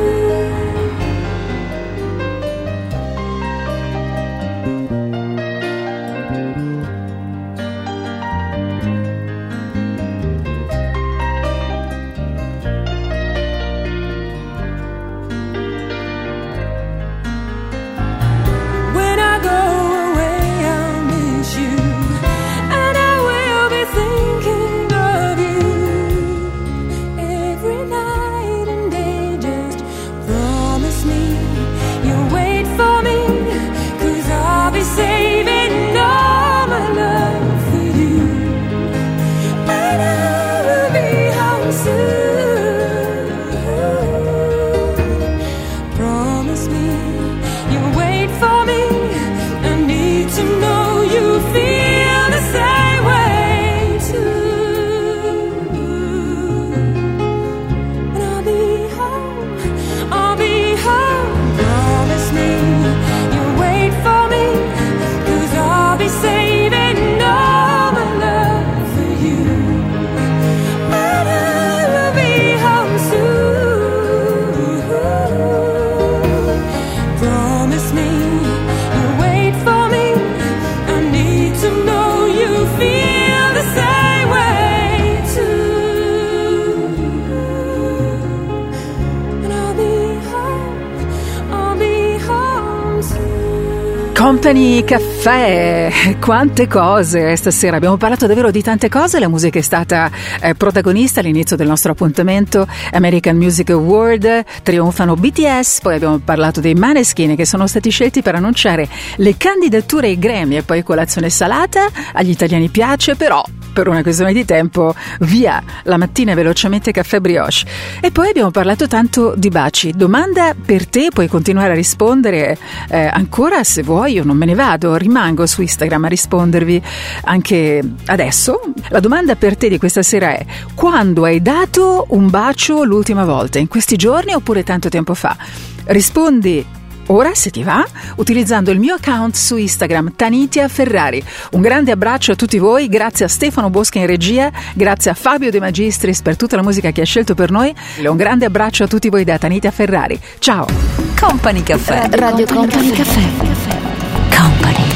Saving all my love for you, and I will be home soon. Promise me you'll wait for me. I need to know you feel the same way too. And I'll be home, I'll be home. Promise me you'll wait for me. I'll be saving all my love for you, and I will be home soon. Promise me you'll wait for me. I need to know you feel the same way too. And I'll be home, I'll be home soon. Company Caffè, quante cose stasera, abbiamo parlato davvero di tante cose. La musica è stata eh, protagonista all'inizio del nostro appuntamento. American Music Award, trionfano B T S, poi abbiamo parlato dei Maneskin che sono stati scelti per annunciare le candidature ai Grammy, e poi colazione salata, agli italiani piace, però per una questione di tempo via la mattina velocemente caffè brioche. E poi abbiamo parlato tanto di baci. Domanda per te, puoi continuare a rispondere eh, ancora se vuoi, io non me ne vado, rimango su Instagram a rispondervi anche adesso. La domanda per te di questa sera è: quando hai dato un bacio l'ultima volta? In questi giorni oppure tanto tempo fa? Rispondi ora, se ti va, utilizzando il mio account su Instagram, Tanitia Ferrari. Un grande abbraccio a tutti voi, grazie a Stefano Bosca in regia, grazie a Fabio De Magistris per tutta la musica che ha scelto per noi. Un grande abbraccio a tutti voi da Tanitia Ferrari. Ciao. Company Caffè. Radio Company Caffè. Company.